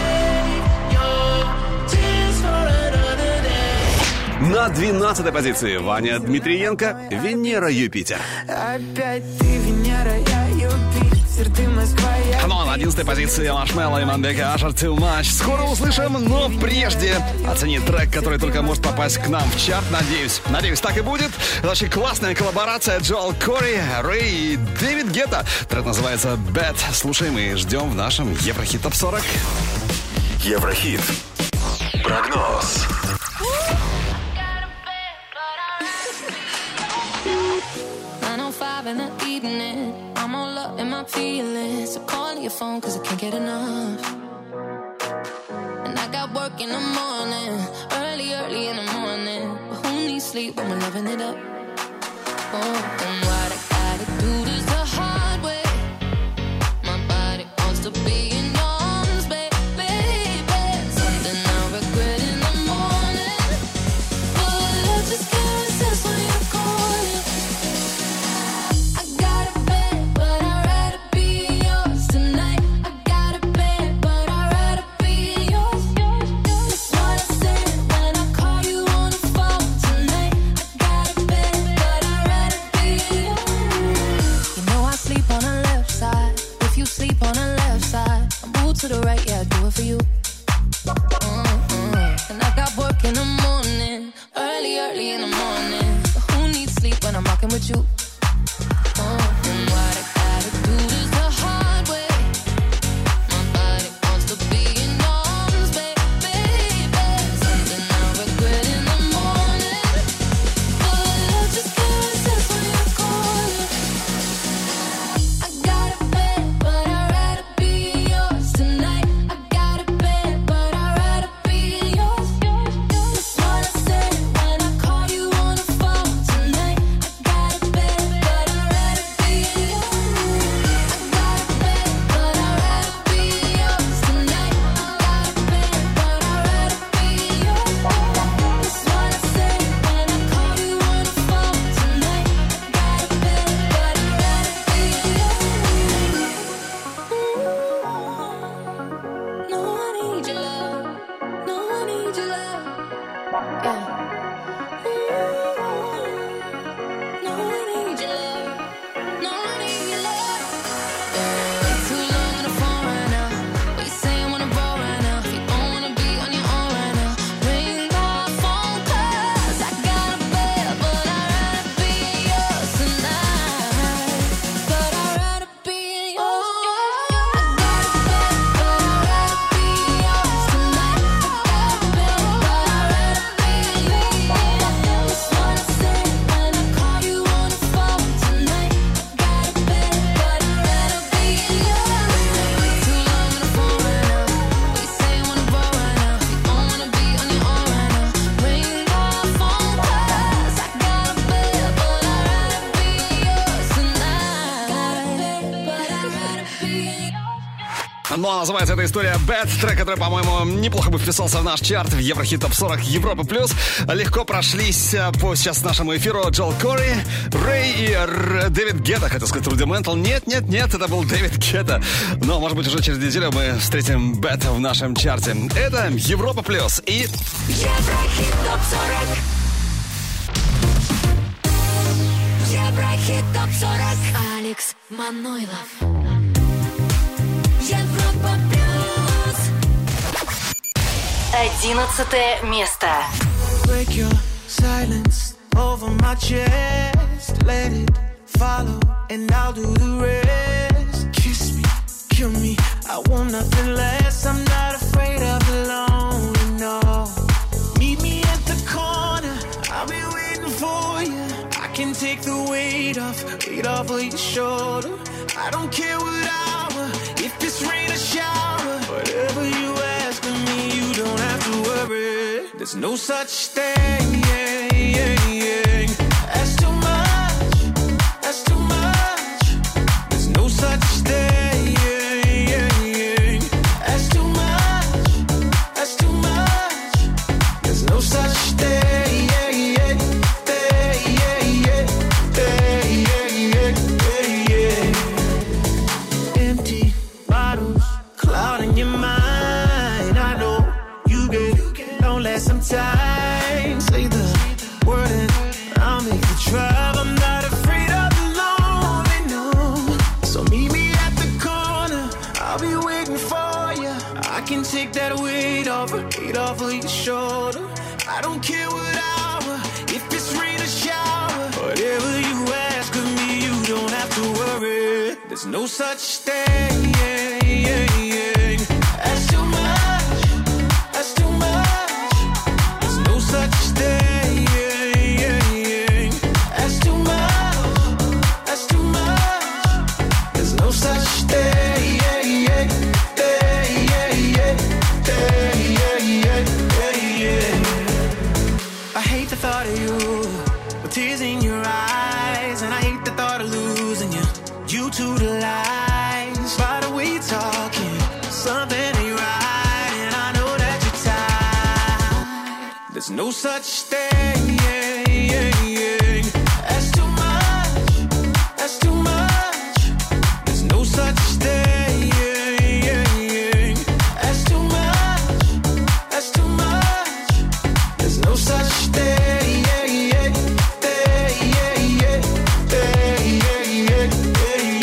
На двенадцатой позиции Ваня Дмитриенко, Венера Юпитер. Опять ты Венера, я Юпитер, ты Москва, я... Ну а на одиннадцатой позиции Маршмелло и Мандека Ашер Too Much. Скоро услышим, но прежде оцени трек, который только может попасть к нам в чарт. Надеюсь, надеюсь, так и будет. Это очень классная коллаборация Джоэл Кори, Рэй и Дэвид Гетта. Трек называется Bad. Слушаем и ждем в нашем Еврохит топ сорок. Еврохит. Прогноз. nine oh five in the evening, I'm all up in my feelings. So call your phone cause I can't get enough. And I got work in the morning, early, early in the morning. But who needs sleep when we're loving it up? Oh, and what I gotta do is the hard way. My body wants to be in arms, baby. Something I regret in the morning. But I just can't resist when you're calling. называется эта история Bad, трек, который, по-моему, неплохо бы вписался в наш чарт в Еврохит топ сорок Европы плюс. Легко прошлись по сейчас нашему эфиру Джоэл Кори, Рэй и Р... Дэвид Гетта, хотел сказать Рудиментал. Нет, нет, нет, это был Дэвид Гетта. Но, может быть, уже через неделю мы встретим Bad в нашем чарте. Это Европа плюс и... Еврохит топ сорок. Еврохит топ сорок. Алекс Манойлов. Европа плюс. Одиннадцатое место. Break your silence over my chest. Let it follow and I'll do the rest. Kiss me, kill me, I want nothing less. I'm not afraid of the lonely, no. Meet me at the corner, I'll be waiting for you. I can take the weight off, weight off of your shoulder. I don't care what hour, if it's rain or shower. Whatever you ask of me, you don't have to worry. There's no such thing, yeah, yeah, yeah. That's too much, that's too much. There's no such thing, yeah, yeah, yeah. That's too much, that's too much. There's no such thing, yeah, yeah, yeah, yeah, yeah, yeah, yeah, yeah. Empty bottles, clouding your mind. I know you get, don't let some time. Say the word and I'll make the drive. I'm not afraid of the lonely, no. So meet me at the corner, I'll be waiting for you. I can take that weight off, weight off of your shoulder. I don't care what hour, if it's rain or shower. Whatever you ask of me, you don't have to worry. There's no such thing, yeah, yeah, yeah. That's too much, that's too much. There's no such thing, yeah, yeah, yeah. That's too much, that's too much. There's no such thing, yeah, yeah, yeah, yeah, yeah, yeah, yeah, yeah. I hate the thought of you with tears in your eyes, and I hate the thought of losing you. You to the lies, by the way you're talking, something ain't right, and I know that you're tired. There's no such thing, yeah, yeah, yeah. That's too much, that's too much. There's no such thing, yeah, yeah, yeah. That's too much, that's too much. There's no such thing, yeah, yeah, yeah, yeah, yeah, yeah, yeah,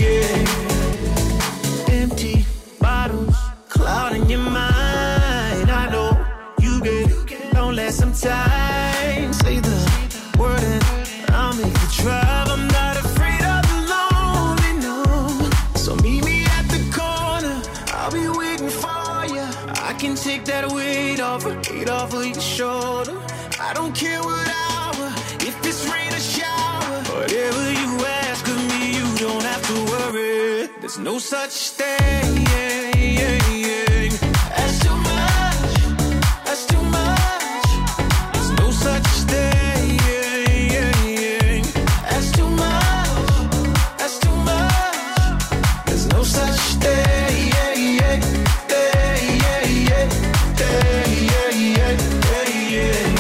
yeah. Empty bottles, clouding your mind. I know you get, don't let some time. Say the word and I'll make the drive. I'm not afraid of the lonely, no. So meet me at the corner, I'll be waiting for you. I can take that weight off, weight off of your shoulder. I don't care what hour, if it's rain or shower. Whatever you ask of me, you don't have to worry. There's no such thing, yeah, yeah, yeah. That's too much, that's too much. There's no such thing, yeah, yeah, yeah. That's too much, that's too much. There's no such thing, yeah, yeah, yeah, yeah, yeah, yeah, yeah, yeah.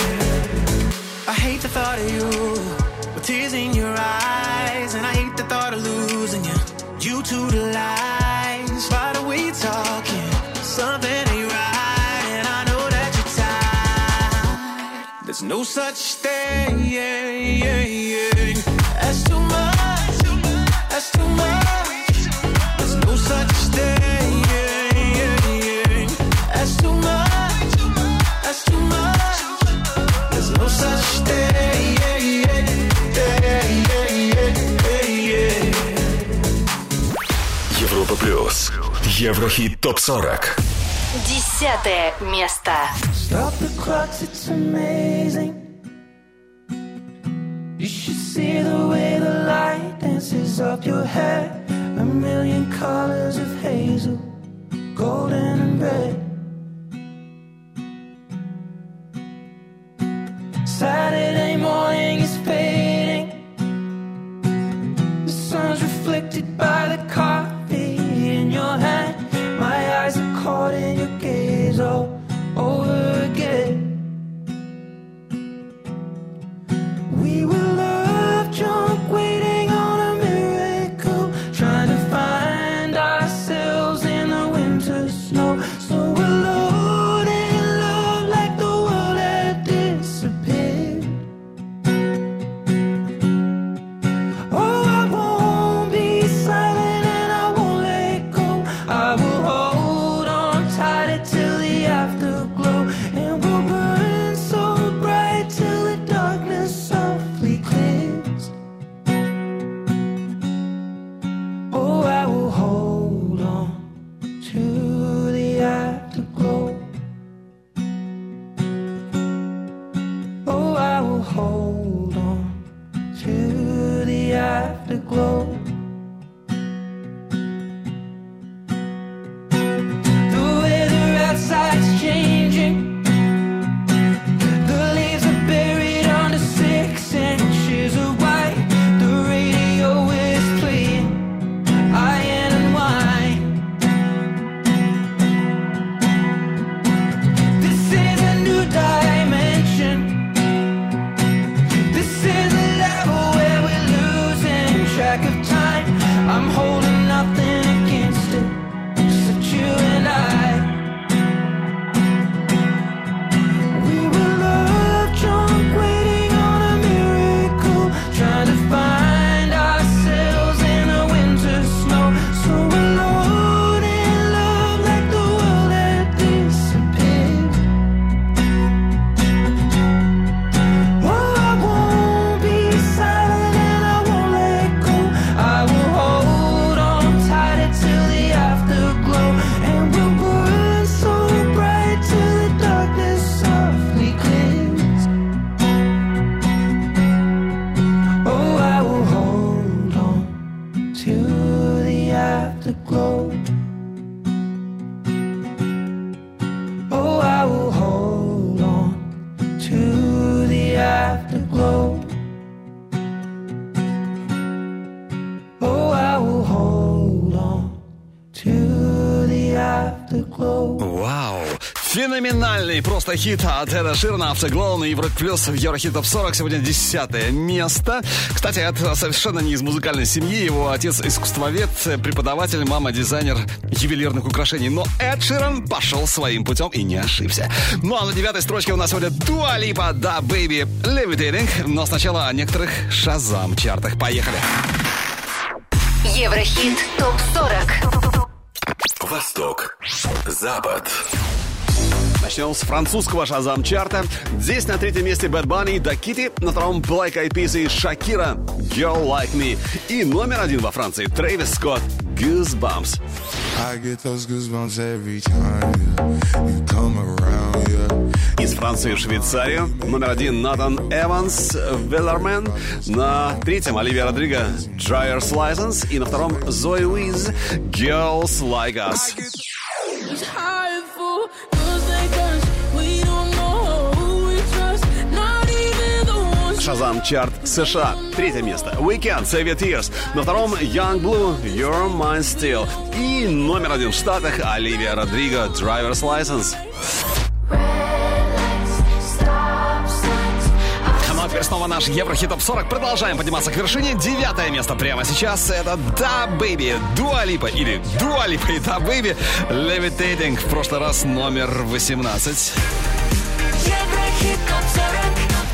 I hate the thought of you with tears in your eyes, and I hate the thought of losing you. You to the lies, by the way you're talking, something ain't right, and I know that you're tired. There's no such thing, yeah, yeah, yeah. That's too much, that's too much. There's no such thing, yeah, yeah, yeah. That's too much, that's too much. There's no such thing, yeah, yeah, yeah, yeah, yeah, yeah. Европа плюс. Еврохит топ сорок. Десятое место. Stop the clocks, it's amazing. You should see the way the light dances up your hair. A million colors of hazel, golden and red. Saturday morning is fading. The sun's reflected by the coffee in your hand. My eyes are all over again. We were love drunk, waiting on a miracle, trying to find ourselves in the winter snow. So alone in love, like the world had disappeared. Oh, I won't be silent and I won't let go. I will hold on tight till the afterglow, and we'll burn so bright till the darkness softly clears. Oh, I will hold on to the afterglow. Oh, I will hold on to the afterglow. The weather outside's changing. The leaves are buried under six inches of white. The radio is playing iron and wine. This is a new dimension. This is a level where we're losing track of time. I'm holding nothing against it, except you and I. We were love drunk, waiting on a miracle, trying to find ourselves in the winter snow. So alone in love, like the world had disappeared. Oh, I won't be silent and I won't let go. I will hold on tight till the afterglow, and we'll burn so bright till the darkness softly clears. Oh, I will hold on to the afterglow. Oh, I will hold on to the afterglow. Oh, I will hold on to the afterglow. Вау! Феноменальный просто хит от Эда Ширана, Afterglow на Европе Плюс в Еврохит Топ сорок. Сегодня десятое место. Кстати, это совершенно не из музыкальной семьи. Его отец искусствовед, преподаватель, мама дизайнер ювелирных украшений. Но Эд Ширан пошел своим путем и не ошибся. Ну а на девятой строчке у нас сегодня Dua Lipa, Da Baby, Levitating. Но сначала о некоторых Шазам-чартах. Поехали! Еврохит Топ сорок. Восток, Запад. Начнем с французского Шазам-чарта. Здесь на третьем месте Bad Bunny, Da Kitty, на втором Black Eyed Peas и Shakira, Girl Like Me. И номер один во Франции Трэвис Скотт, Goosebumps. I get those goosebumps every time yeah. You come around, yeah. Из Франции в Швейцарию. Номер один Натан Эванс, Веллермен. На третьем Оливия Родриго, Driver's License. И на втором Зои Уиз, Girls Like Us. Шазам-чарт США. Третье место Weekend, Save Your Tears. На втором Young Blue, Your Mind Still. И номер один в Штатах Оливия Родриго, Driver's License. Ну а теперь снова наш Еврохит Топ сорок. Продолжаем подниматься к вершине. Девятое место прямо сейчас. Это Da Baby, Dua Lipa или Dua Lipa и Da Baby, Levitating. В прошлый раз номер восемнадцать. Еврохит Топ сорок.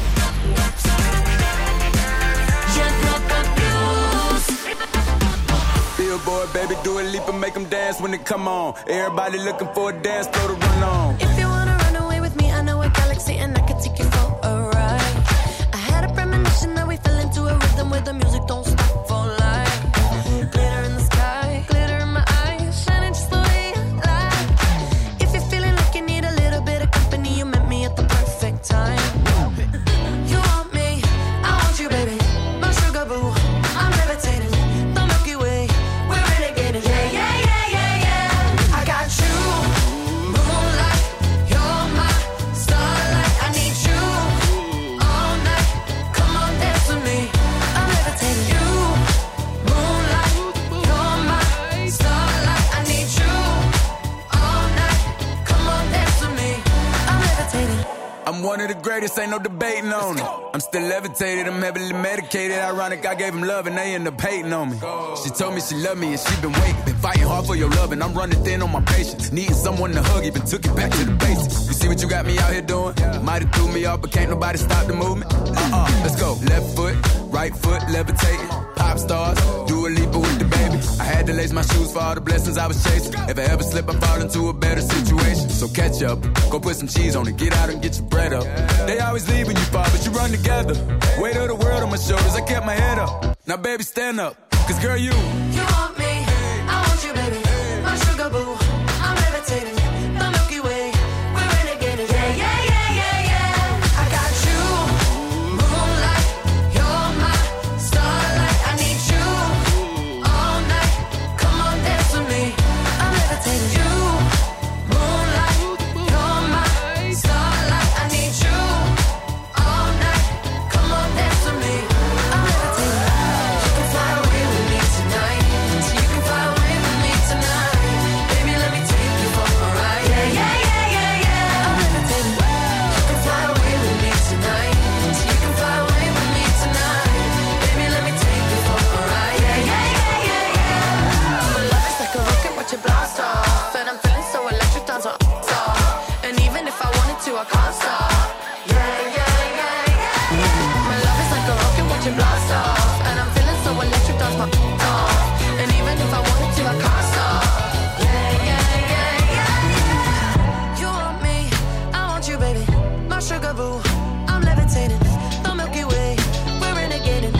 Billboard, baby, do a leap and make them dance when they come on. Everybody looking for a dance floor to run on. If you wanna run away with me, I know a galaxy and I can take you for a ride. I had a premonition that we fell into a rhythm where the music don't stop for life. Glitter in the sky, glitter in my eyes, shining just the way I like. If you're feeling like you need a little bit of company, you met me at the perfect time. You want me, I want you, baby, my sugar boo. I'm levitating, the Milky Way, we're renegading. Yeah, yeah, yeah, yeah, yeah. I got you, moonlight. I'm one of the greatest, ain't no debating on it. I'm still levitated, I'm heavily medicated. Ironic, I gave him love and they end up hating on me. She told me she loved me and she been waiting. Been fighting hard for your love and I'm running thin on my patience. Needing someone to hug, even took it back to the basics. You see what you got me out here doing? Might have threw me off, but can't nobody stop the movement. Uh-uh, let's go. Left foot, right foot, levitating. Pop stars, do a leap with the baby. I had to lace my shoes for all the blessings I was chasing. If I ever slip, I fall into a better situation. So catch up, go put some cheese on it, get out and get your bread up. They always leave when you fall, but you run together. Weight of the world on my shoulders, I kept my head up. Now baby, stand up, cause girl, you You want me, I want you, baby. My sugar boo, I'm levitating. The Milky Way, we're renegading. Yeah, yeah, yeah, yeah, yeah. I got you, moonlight. You're my starlight. I need you all night. Come on, dance with me. I'm levitating. You, moonlight. You're my starlight. I need you all night. Come on, dance with me. I'm levitating. You can fly away with me tonight. You can fly away with me tonight. Baby, let me take you for a ride. Yeah, yeah, yeah, yeah, yeah. I'm levitating. You can fly away with me tonight. You can fly away with me tonight. Baby, let me take you for a ride. Yeah, yeah, yeah, yeah, yeah. My love is like a rocket, watch it blast off. And I'm feeling so electric, dance on off. And even if I wanted to, I can't stop. Yeah, yeah, yeah, yeah. My love is like a rocket, watch it blast off. And I'm feeling so electric, dance my off. And even if I wanted to, I can't stop. Yeah, yeah, yeah, yeah. You want me, I want you, baby. My sugar boo, I'm levitating. The Milky Way, we're renegading.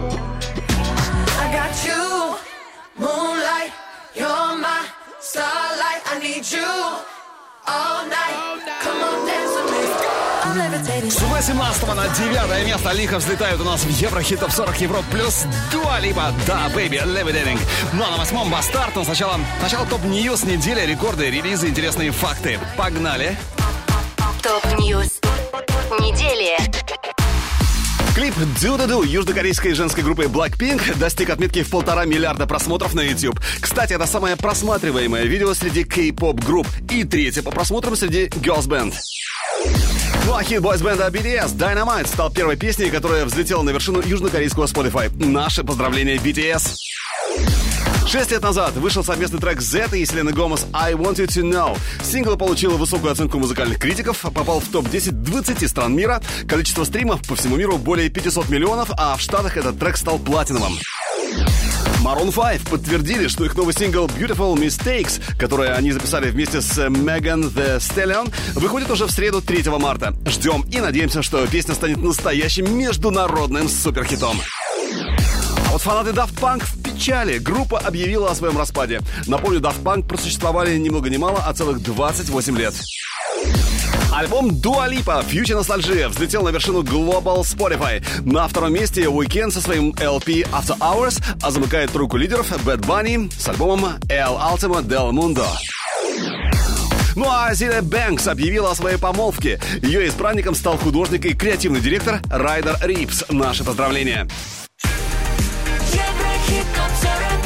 I got you, moonlight. You're my starlight. I need you all night. Come on, dance with me. I'm levitating. С восемнадцатого на девятое место лихо взлетают у нас в Еврохит Топ сорок Европ плюс Дуа Липа, да, Baby, Levitating. Ну а на восьмом Бастард, но сначала, сначала топ-ньюс недели, рекорды, релизы, интересные факты. Погнали! Топ-ньюс недели. Клип Do Do Do южнокорейской женской группы Blackpink достиг отметки в полтора миллиарда просмотров на YouTube. Кстати, это самое просматриваемое видео среди кей-поп групп и третье по просмотрам среди Girls Band. Ну а хит бойс-бенда би ти эс Dynamite стал первой песней, которая взлетела на вершину южнокорейского Spotify. Наши поздравления би ти эс. Шесть лет назад вышел совместный трек Z и Селены Гомес «I Want You To Know». Сингл получил высокую оценку музыкальных критиков, попал в топ десять двадцати стран мира. Количество стримов по всему миру более пятисот миллионов, а в Штатах этот трек стал платиновым. Maroon пять подтвердили, что их новый сингл Beautiful Mistakes, который они записали вместе с Megan Thee Stallion, выходит уже в среду третьего марта. Ждем и надеемся, что песня станет настоящим международным суперхитом. А вот фанаты Daft Punk в печали. Группа объявила о своем распаде. Напомню, Daft Punk просуществовали ни много ни мало, а целых двадцать восемь лет. Альбом Dua Lipa Future Nostalgia взлетел на вершину Global Spotify. На втором месте Weeknd со своим эл пи After Hours, а замыкает тройку лидеров Bad Bunny с альбомом El Ultimo del Mundo. Ну а Зиля Бэнкс объявила о своей помолвке. Ее избранником стал художник и креативный директор Райдер Рипс. Наши поздравления. Еврохит топ сорок.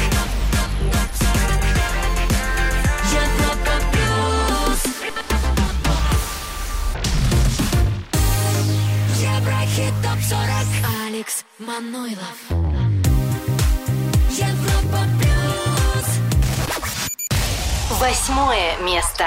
Европа плюс. Еврохит топ сорок. Алекс Манойлов. Европа плюс. Восьмое место.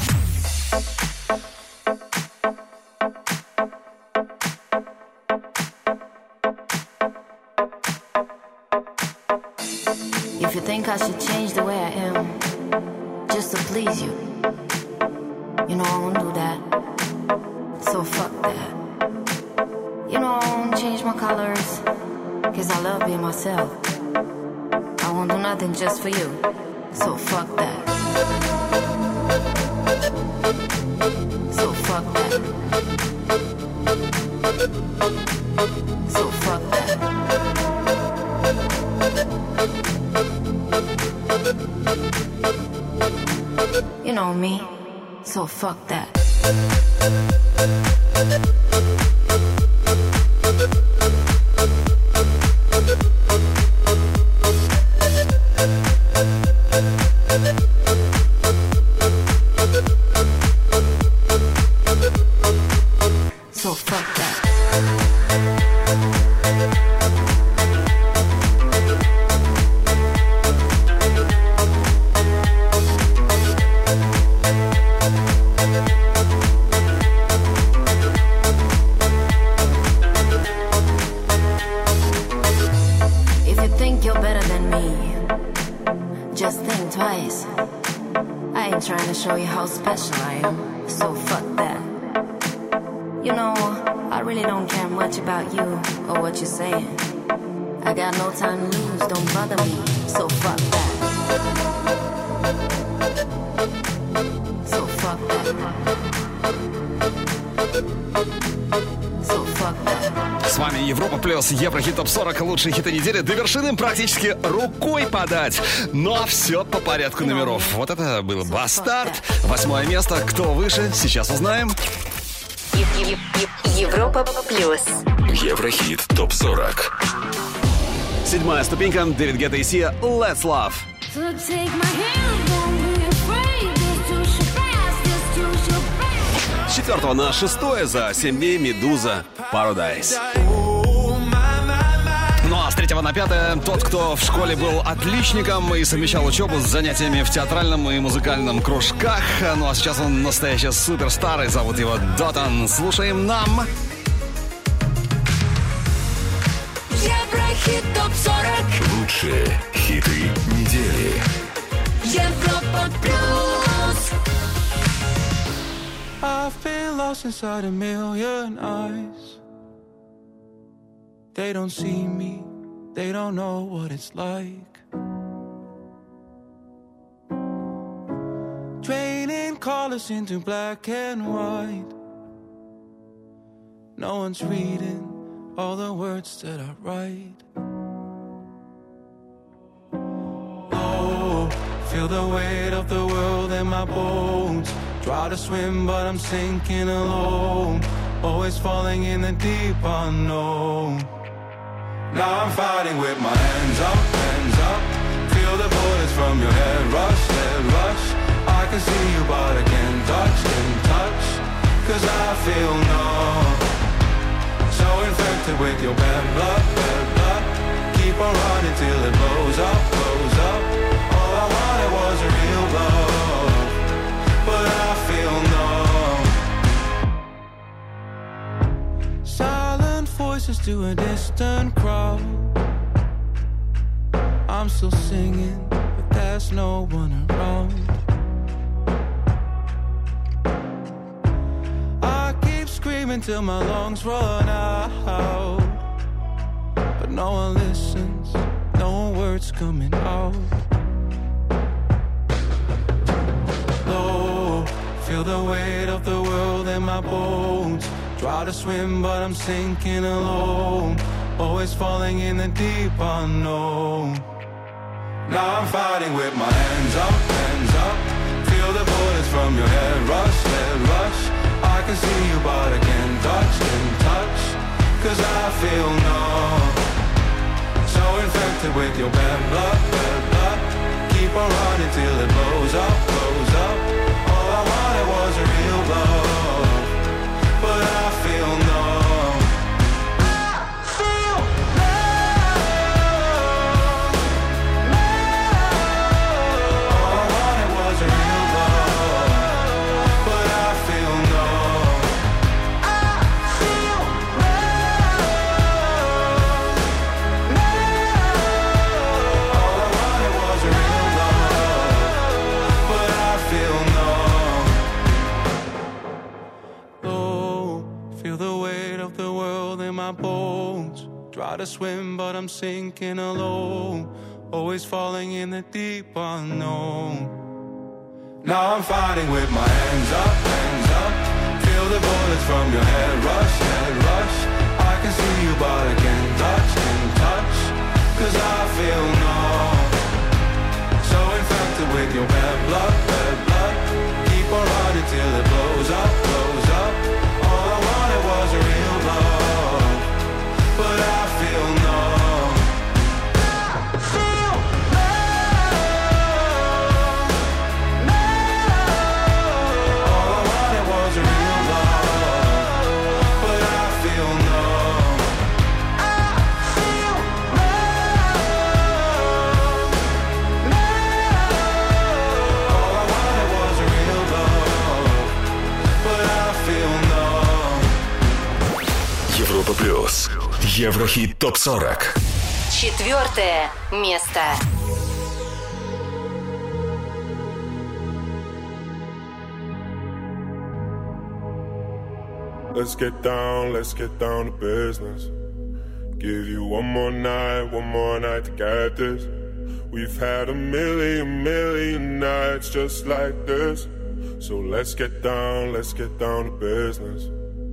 If you think I should change the way I am just to please you, you know I won't do that. So fuck that. You know I won't change my colors, cause I love being myself. I won't do nothing just for you. So fuck that. So fuck that. So fuck that. You know me, so fuck that. so fuck that. If you think you're better than me, just think twice. I ain't trying to show you how special I am, so fuck that. You know, I really don't care much about you or what you're saying. I got no time to lose, don't bother me, so fuck that. So fuck that. So fuck that. С вами Европа Плюс, Еврохит Топ сорок, лучшие хиты недели. До вершины практически рукой подать. Но все по порядку номеров. Вот это был Бастард. Восьмое место. Кто выше, сейчас узнаем. Европа Плюс. Еврохит Топ сорок. Седьмая ступенька. Дэвид Гетта и Сия. Let's Love. С четвертого на шестое за семь дней Медуза Paradise. Ну а с третьего на пятое тот, кто в школе был отличником и совмещал учебу с занятиями в театральном и музыкальном кружках. Ну а сейчас он настоящий суперстар, и зовут его Дотан. Слушаем нам. Еврохит топ сорок. Лучшие хиты недели. Европа Плюс. I've been lost inside a million eyes. They don't see me, they don't know what it's like. Draining colors into black and white. No one's reading all the words that I write. Oh, feel the weight of the world in my bones. Try to swim but I'm sinking alone. Always falling in the deep unknown. Now I'm fighting with my hands up, hands up. Feel the bullets from your head rush, head rush. I can see you but I can't touch, can't touch. Cause I feel numb. So infected with your bad blood, bad blood. Keep on running till it blows up, blows up. All I wanted was a real love, but I feel numb. Silent voices to a distant crowd. I'm still singing, but there's no one around. I keep screaming till my lungs run out, but no one listens, no words coming out. Low, feel the weight of the world in my bones. Try to swim but I'm sinking alone. Always falling in the deep unknown. Now I'm fighting with my hands up, hands up. Feel the bullets from your head rush, head rush. I can see you but I can't touch, can't touch. Cause I feel numb. So infected with your bad blood, bad blood. Keep on running till it blows up, blows up. All I wanted was a real love, but I feel numb. I feel numb, numb. All I wanted was a real love, but I feel numb. I feel numb, numb. All I wanted was a real love, but I feel numb. Oh, feel the weight of the world in my bones. Try to swim but I'm sinking alone. Always falling in the deep unknown. Now I'm fighting with my hands up, hands up. Feel the bullets from your head rush, head rush. I can see you but I can't touch, can't touch. Cause I feel numb. So infected with your bad blood, bad blood. Keep on running till it blows up, blows up. All I wanted was a real love, but I feel numb. I feel numb, numb. All I wanted was a real love, but Европа плюс. Еврохит топ сорок. Четвертое место. Let's get down, let's get down to business. Give you one more night, one more night to get this. We've had a million, million nights just like this. So let's get down, let's get down to business.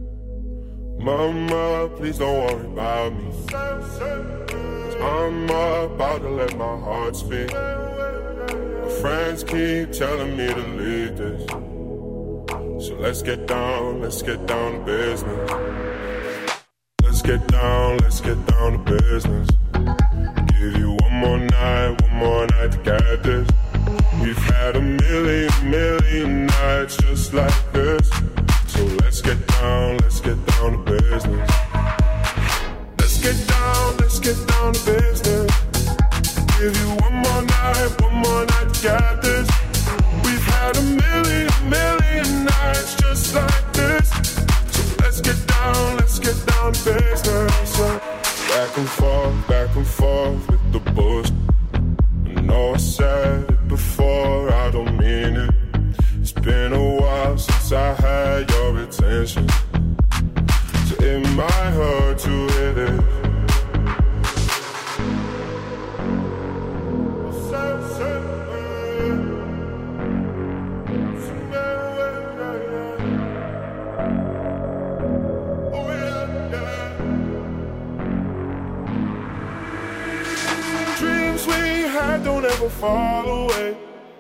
Mama, please don't worry about me. Cause I'm about to let my heart speak. My friends keep telling me to leave this. So let's get down, let's get down to business. Let's get down, let's get down to business. Give you one more night, one more night to get this. We've had a million, million nights just like this. So let's get down, let's get down to business. Let's get down, let's get down to business. Give you one more night, one more night to get this. We've had a million, million nights just like this. So let's get down, let's get down to business. Back and forth, back and forth with the bullshit. I know I said it before, I don't mean it. It's been a while since I had your attention. So it might hurt to hear this. Don't ever fall away.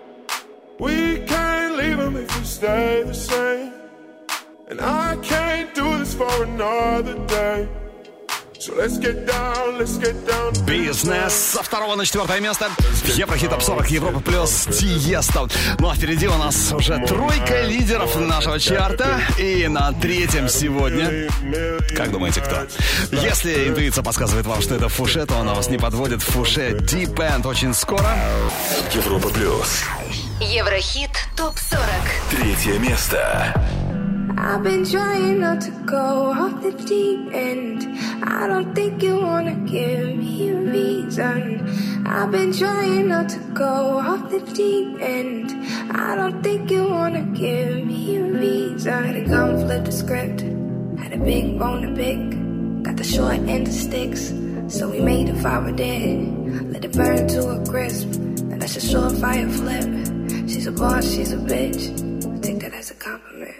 We can't leave them if we stay the same. And I can't do this for another day. So let's get down, let's get down. Бизнес со второго на четвертое место. Еврохит топ сорок Европа плюс Тиесто. Ну а впереди у нас уже тройка лидеров нашего чарта. И на третьем сегодня, как думаете, кто? Если интуиция подсказывает вам, что это Фуше, то она вас не подводит. Фуше Deep End очень скоро. Европа плюс. Еврохит топ сорок. Третье место. I've been trying not to go off the deep end. I don't think you wanna give me a reason. I've been trying not to go off the deep end. I don't think you wanna give me a reason. Had a gun, flip the script. Had a big bone to pick. Got the short end of sticks. So we made a fire dead. Let it burn to a crisp. And that's a surefire flip. She's a boss, she's a bitch. I take that as a compliment.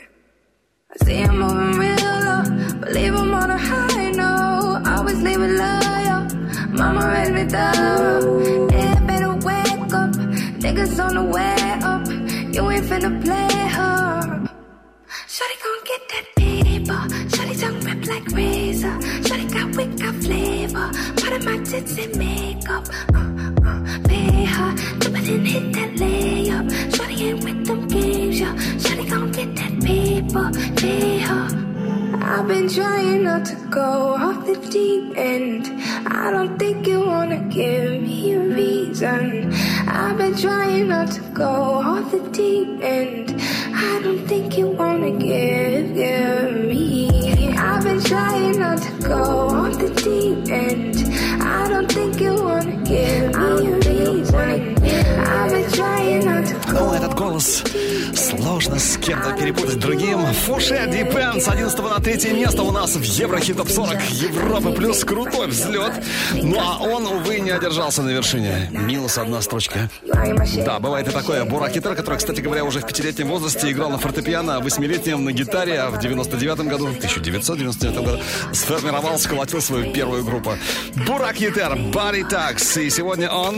I see I'm moving real low, believe I'm on a high note. Always leave it loyal, mama raised me thorough. Yeah, better wake up, niggas on the way up. You ain't finna play her. Shawty gon' get that paper. Shawty tongue rip like razor. Shawty got wit, got flavor. Part of my tits and makeup. Uh, uh, pay her, jump it and hit that layup. Shawty ain't with them games, yeah. Shawty gon' get that paper, pay her. I've been trying not to go off the deep end. I don't think you wanna give me a reason. I've been trying not to go off the deep end. I don't think you wanna give, give me. I've been trying not to go off the deep end. I don't think you wanna give me a reason. I've been trying not to go. Ну, этот голос сложно с кем-то перепутать другим. Фуше Deep End с одиннадцатого на третье место у нас в Еврохит топ сорок Европы плюс. Крутой взлет. Ну, а он, увы, не одержался на вершине. Минус одна строчка. Да, бывает и такое. Бурак Хитер, который, кстати говоря, уже в пятилетнем возрасте играл на фортепиано, а в восьмилетнем на гитаре, а в девяносто девятом году, тысяча девятьсот девяносто девятом году сформировал, сколотил свою первую группу. Бурак Хитер, Body Tax. И сегодня он...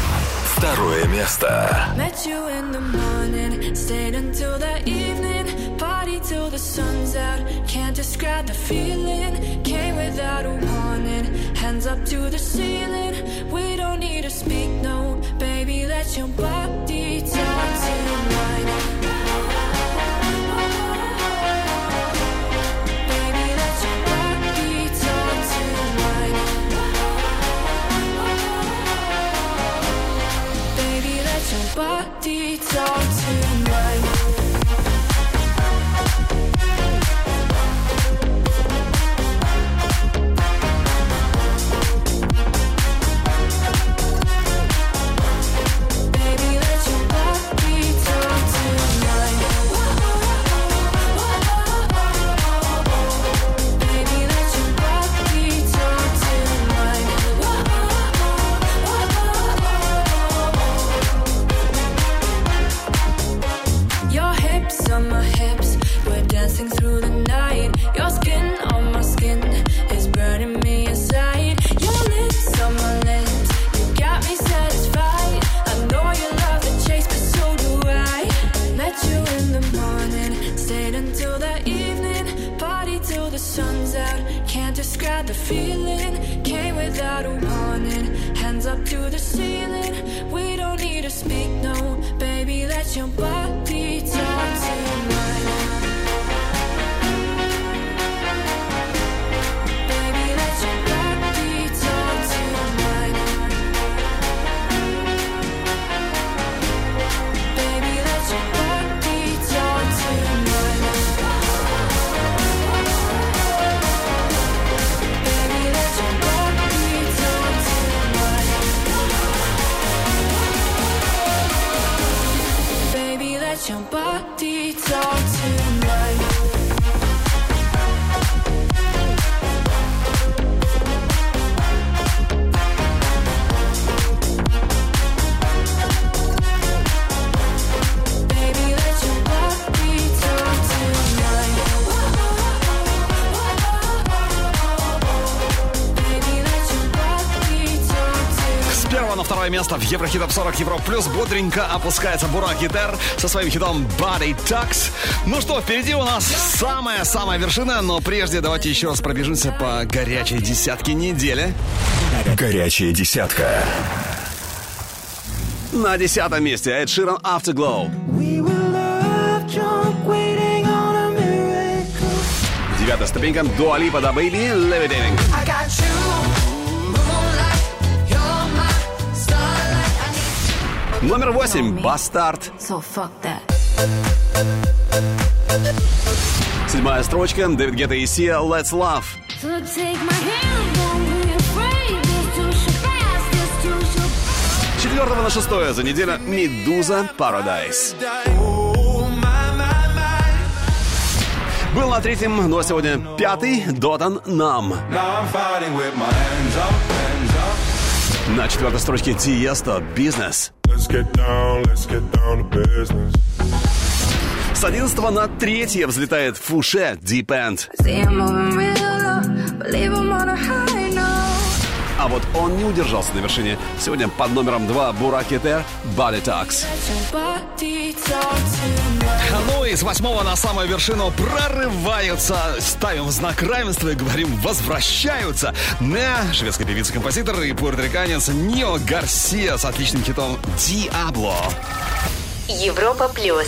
Второе место. Met you in the morning, stayed until the evening, party till the sun's out. Can't describe the feeling, came without a warning, hands up to the ceiling. We don't need to speak, no, baby, let your body talk to mine. Baby, let your body talk to mine. Baby, let your body talk to mine. feeling came without a warning. Hands up to the ceiling. We don't need to speak, no. Baby, let your body talk to mine. Baby, let your body talk to mine. Baby, let your body talk to mine. Baby, let your body talk to mine. Baby, let your body talk to mine. На второе место в Еврохит Топ сорок Европа Плюс бодренько опускается Бурак Гитер со своим хитом Body Talks. Ну что, впереди у нас самая-самая вершина, но прежде давайте еще раз пробежимся по горячей десятке недели. Горячая десятка. На десятом месте Эд Ширан Afterglow. Девятая ступенька Дуа Липа Da Baby Levitating. Номер восемь Бастард. So fuck that. Седьмая строчка Дэвид Гетта и Сия Let's Love. So take my hand, don't be afraid. This too shall pass, this too shall С четвертого на шестое за неделю Медуза Paradise. Был на третьем, но сегодня пятый Дотан Нам. На четвертой строчке Тиесто Business. С одиннадцатого на третье взлетает Фуше Deep End. А вот он не удержался на вершине. Сегодня под номером два Бурак Гитер Body Talks. Ну и с восьмого на самую вершину прорываются, ставим в знак равенства и говорим возвращаются. Не, шведская певица-композитор и пуэрториканец Нио Гарсия с отличным хитом Диабло. Европа Плюс.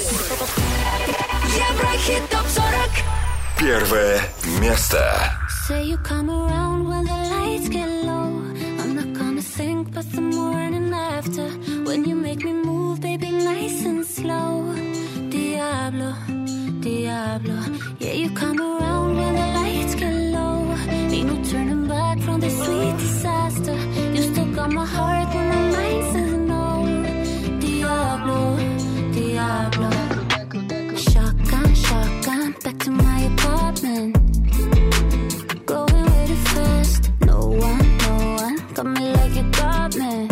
Еврохит Топ сорок. Первое место. Say you come around when the lights get low. I'm not gonna think but the morning after. When you make me move, baby, nice and slow. Diablo, Diablo. Yeah, you come around when the lights get low. Ain't no turning back from this sweet disaster. You still got my heart when my mind says no. Diablo, Diablo. Shotgun, shotgun, back to my apartment. Going way too fast. No one, no one got me like you got me.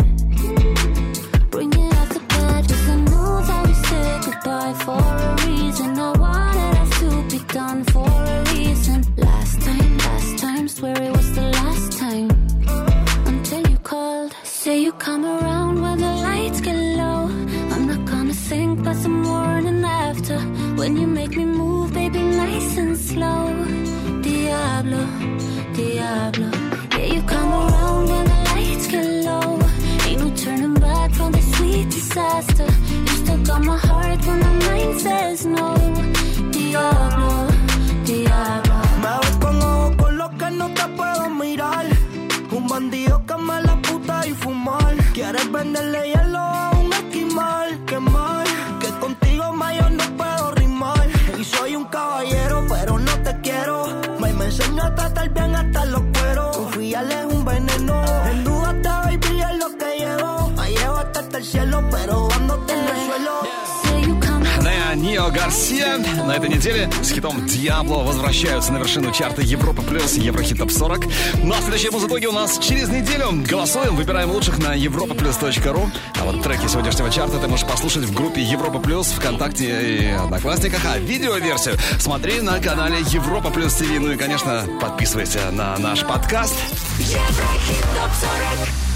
Bring it out the bed, 'cause I know that we said goodbye for a reason. I wanted us to be done for a reason. Last time, last time, swear it was the last time. Until you called, say you come around when the lights get low. I'm not gonna think about the morning after. When you make me move, baby, nice and slow. Diablo, Diablo. Yeah, you come around when the lights get low. Ain't no turning back from the sweet disaster. You still got my heart when my mind says no. Diablo, Diablo. Me ves con ojos con los que no te puedo mirar. Un bandido que me la puta y fumar. Quieres venderle hielo a un esquimal. Qué mal, que contigo más yo no puedo rimar. Y soy un caballero, pero no te quiero. Me, me enseño a tratar bien hasta los cueros. Confiarle es un veneno. En duda te baby es lo que llevo. Me llevo hasta el cielo, pero dándote en el suelo. Да, Нио Гарсия на этой неделе с хитом «Диабло» возвращаются на вершину чарта Европа Плюс Еврохит Топ сорок. Ну а следующие музыкоги у нас через неделю. Голосуем, выбираем лучших на европа плюс точка ру. А вот треки сегодняшнего чарта ты можешь послушать в группе Европа Плюс, ВКонтакте и Одноклассниках. А видеоверсию смотри на канале Европа Плюс ТВ. Ну и, конечно, подписывайся на наш подкаст. Еврохит Топ сорок.